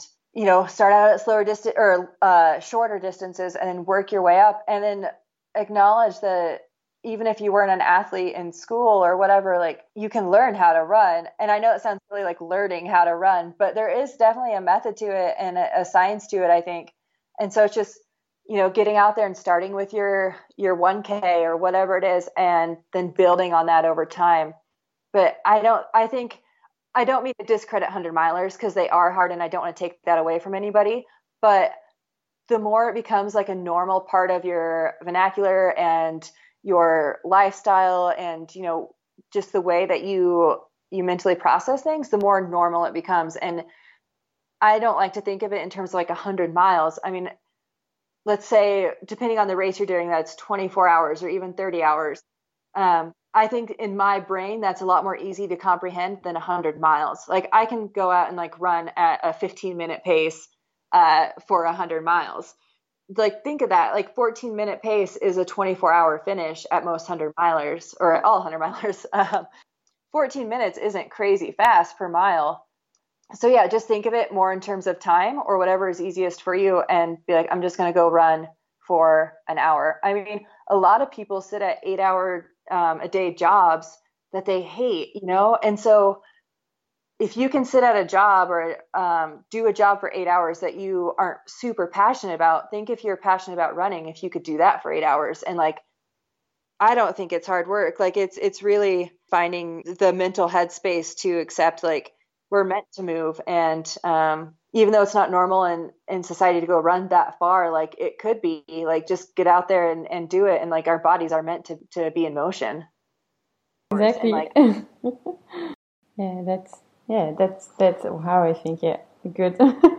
at slower distance or shorter distances, and then work your way up, and then acknowledge that even if you weren't an athlete in school or whatever, like you can learn how to run. And I know it sounds really like learning how to run, but there is definitely a method to it and a science to it, I think. And so it's just, getting out there and starting with your 1K or whatever it is, and then building on that over time. But I don't mean to discredit 100 milers, because they are hard, and I don't want to take that away from anybody. But the more it becomes like a normal part of your vernacular and your lifestyle, and just the way that you mentally process things, the more normal it becomes. And I don't like to think of it in terms of like 100 miles. I mean, let's say, depending on the race you're doing, that's 24 hours or even 30 hours. I think in my brain, that's a lot more easy to comprehend than 100 miles. Like I can go out and like run at a 15-minute pace for 100 miles. Like think of that, like 14-minute pace is a 24-hour finish at most 100 milers, or at all 100 milers. 14 minutes isn't crazy fast per mile. So yeah, just think of it more in terms of time, or whatever is easiest for you, and be like, I'm just going to go run for an hour. I mean, a lot of people sit at 8-hour a day jobs that they hate, and so if you can sit at a job or do a job for 8 hours that you aren't super passionate about, think if you're passionate about running, if you could do that for 8 hours. And like, I don't think it's hard work. Like it's really finding the mental headspace to accept like we're meant to move. And even though it's not normal in society to go run that far, like it could be like, just get out there and do it. And like our bodies are meant to be in motion. Exactly. And, like, that's how I think. Yeah, good.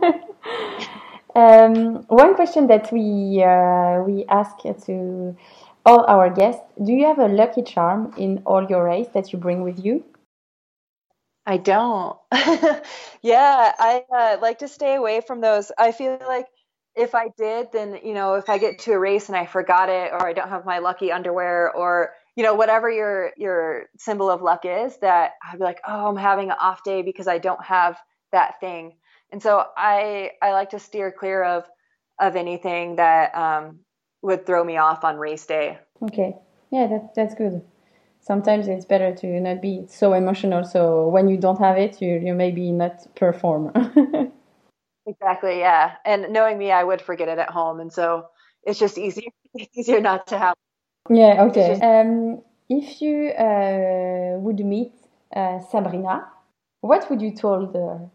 One question that we ask to all our guests: do you have a lucky charm in all your race that you bring with you? I don't. Yeah, I like to stay away from those. I feel like if I did, then, if I get to a race and I forgot it, or I don't have my lucky underwear, or, whatever your symbol of luck is, that I'd be like, oh, I'm having an off day because I don't have that thing. And so I like to steer clear of anything that would throw me off on race day. Okay. Yeah, that's good. Sometimes it's better to not be so emotional, so when you don't have it, you maybe not perform. Exactly, yeah. And knowing me, I would forget it at home, and so it's just easier not to have. Yeah, okay. If you would meet Sabrina, what would you told her?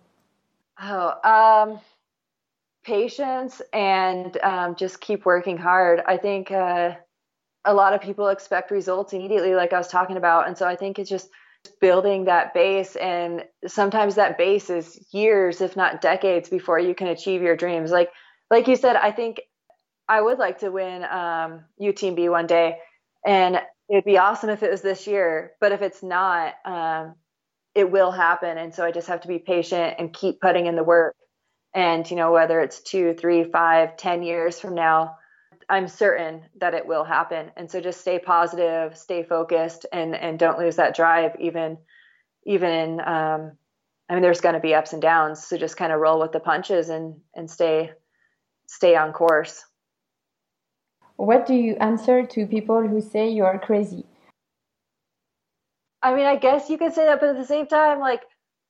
Patience and just keep working hard. I think a lot of people expect results immediately, like I was talking about. And so I think it's just building that base. And sometimes that base is years, if not decades, before you can achieve your dreams. Like you said, I think I would like to win UTMB one day. And it'd be awesome if it was this year. But if it's not, it will happen. And so I just have to be patient and keep putting in the work. And, whether it's 2, 3, 5, 10 years from now, I'm certain that it will happen. And so just stay positive, stay focused, and don't lose that drive, even in, I mean, there's going to be ups and downs. So just kind of roll with the punches and stay on course. What do you answer to people who say you are crazy? I mean, I guess you could say that, but at the same time, like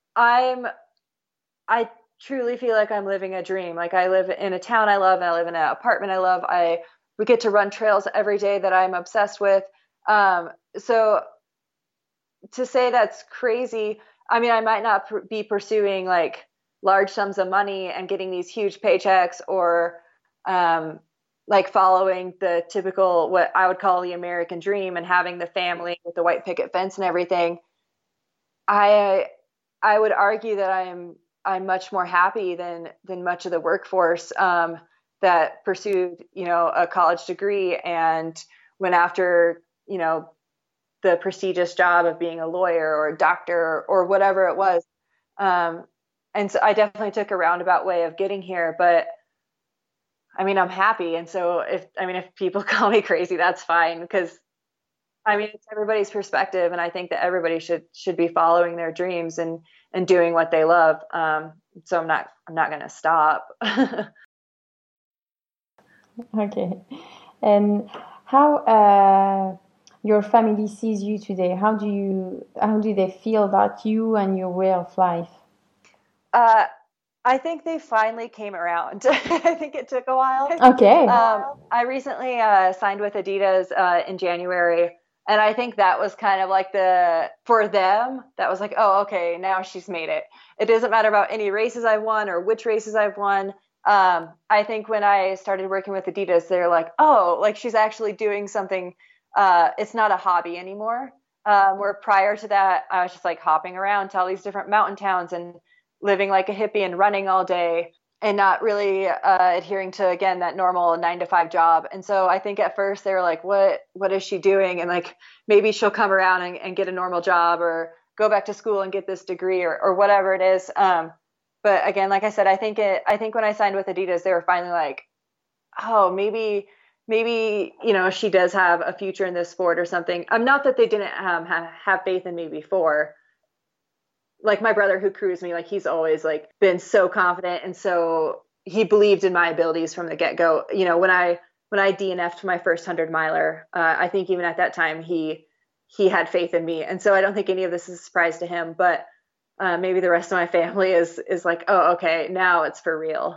I truly feel like I'm living a dream. Like I live in a town I love, and I live in an apartment I love. We get to run trails every day that I'm obsessed with. So to say that's crazy, I mean, I might not be pursuing like large sums of money and getting these huge paychecks, or like following the typical, what I would call the American dream, and having the family with the white picket fence and everything. I would argue that I'm much more happy than much of the workforce that pursued, a college degree and went after, the prestigious job of being a lawyer or a doctor or whatever it was. And so I definitely took a roundabout way of getting here, but I mean, I'm happy. And so if people call me crazy, that's fine, because I mean, it's everybody's perspective. And I think that everybody should be following their dreams and doing what they love. So I'm not going to stop. Okay. And how your family sees you today? How do they feel about you and your way of life? I think they finally came around. I think it took a while. Okay. I recently signed with Adidas in January, and I think that was kind of like for them, that was like, oh, okay, now she's made it. It doesn't matter about any races I've won or which races I've won. I think when I started working with Adidas, they're like, oh, like she's actually doing something. It's not a hobby anymore. Where prior to that, I was just like hopping around to all these different mountain towns and living like a hippie and running all day and not really adhering to, again, that normal 9-to-5 job. And so I think at first they were like, what is she doing? And like, maybe she'll come around and get a normal job or go back to school and get this degree or whatever it is. But again, like I said, I think when I signed with Adidas, they were finally like, oh, maybe, she does have a future in this sport or something. Not that they didn't have faith in me before. Like my brother who crews me, like he's always like been so confident, and so he believed in my abilities from the get-go. When I DNF'd my first 100-miler, I think even at that time he had faith in me, and so I don't think any of this is a surprise to him. But maybe the rest of my family is like, oh, okay, now it's for real.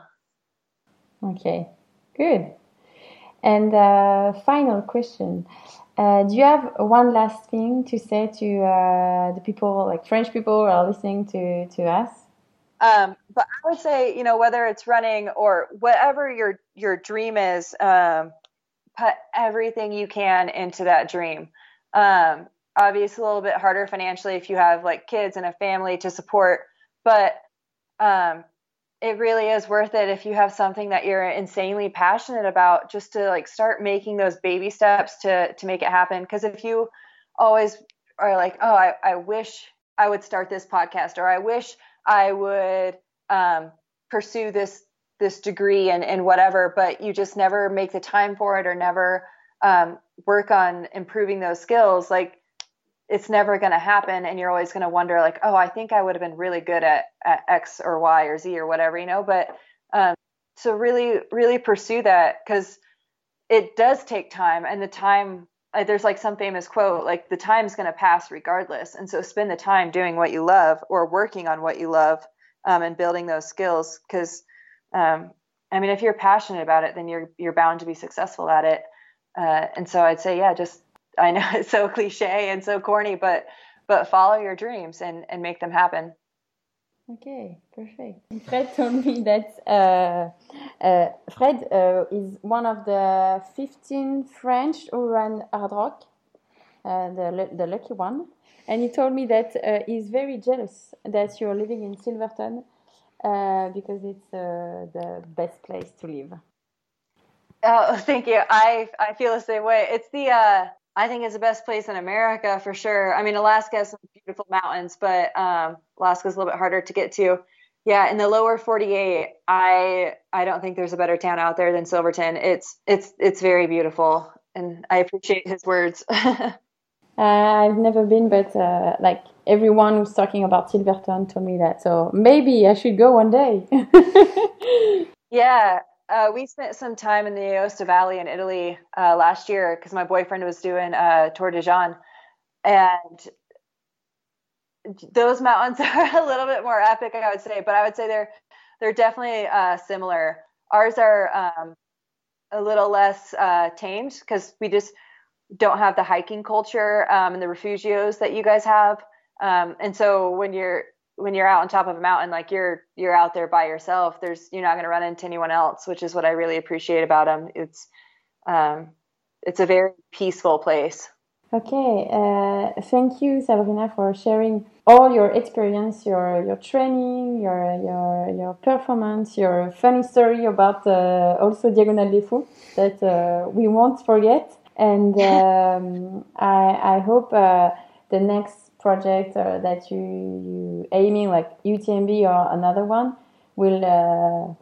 Okay, good. And final question. Do you have one last thing to say to the people, like French people who are listening to us? But I would say, whether it's running or whatever your dream is, put everything you can into that dream. Obviously a little bit harder financially if you have like kids and a family to support, but it really is worth it if you have something that you're insanely passionate about, just to like start making those baby steps to make it happen. Because if you always are like, oh, I wish I would start this podcast, or I wish I would pursue this degree and whatever, but you just never make the time for it or never work on improving those skills, like it's never going to happen. And you're always going to wonder like, oh, I think I would have been really good at X or Y or Z or whatever, but so really, really pursue that, because it does take time, and the time, there's like some famous quote, like the time's going to pass regardless. And so spend the time doing what you love or working on what you love, and building those skills. Because, if you're passionate about it, then you're bound to be successful at it. And so I'd say, I know it's so cliche and so corny, but follow your dreams and make them happen. Okay, perfect. Fred told me that Fred is one of the 15 French who run hard rock, the lucky one. And he told me that he's very jealous that you're living in Silverton because it's the best place to live. Oh, thank you. I feel the same way. It's I think it's the best place in America for sure. I mean, Alaska has some beautiful mountains, but Alaska's a little bit harder to get to. Yeah, in the lower 48, I don't think there's a better town out there than Silverton. It's very beautiful, and I appreciate his words. I've never been, but like everyone who's talking about Silverton told me that. So maybe I should go one day. Yeah, we spent some time in the Aosta Valley in Italy last year because my boyfriend was doing Tour de Jean, and those mountains are a little bit more epic, I would say, but I would say they're definitely similar. Ours are a little less tamed because we just don't have the hiking culture and the refugios that you guys have. And so when you're out on top of a mountain, like you're out there by yourself, you're not going to run into anyone else, which is what I really appreciate about them. It's a very peaceful place. Okay, thank you, Sabrina, for sharing all your experience, your training, your performance, your funny story about also Diagonale des Fous that we won't forget. And I hope the next project that you aiming, like UTMB or another one, will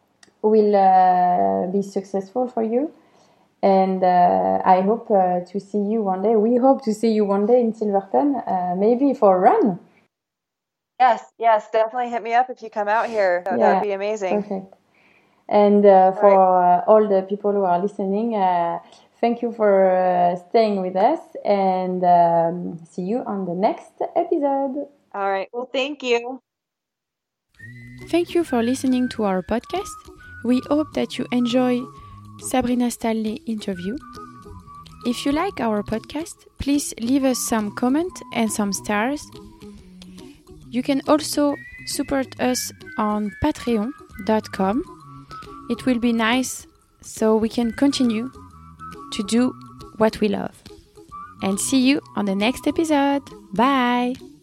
be successful for you. And I hope to see you one day. We hope to see you one day in Silverton, maybe for a run. Yes, definitely hit me up if you come out here. That would be amazing. Perfect. And for all the people who are listening, thank you for staying with us, and see you on the next episode. All right. Well, thank you. Thank you for listening to our podcast. We hope that you enjoy Sabrina Stanley interview. If you like our podcast, please leave us some comment and some stars. You can also support us on patreon.com. It will be nice so we can continue to do what we love. And see you on the next episode. Bye!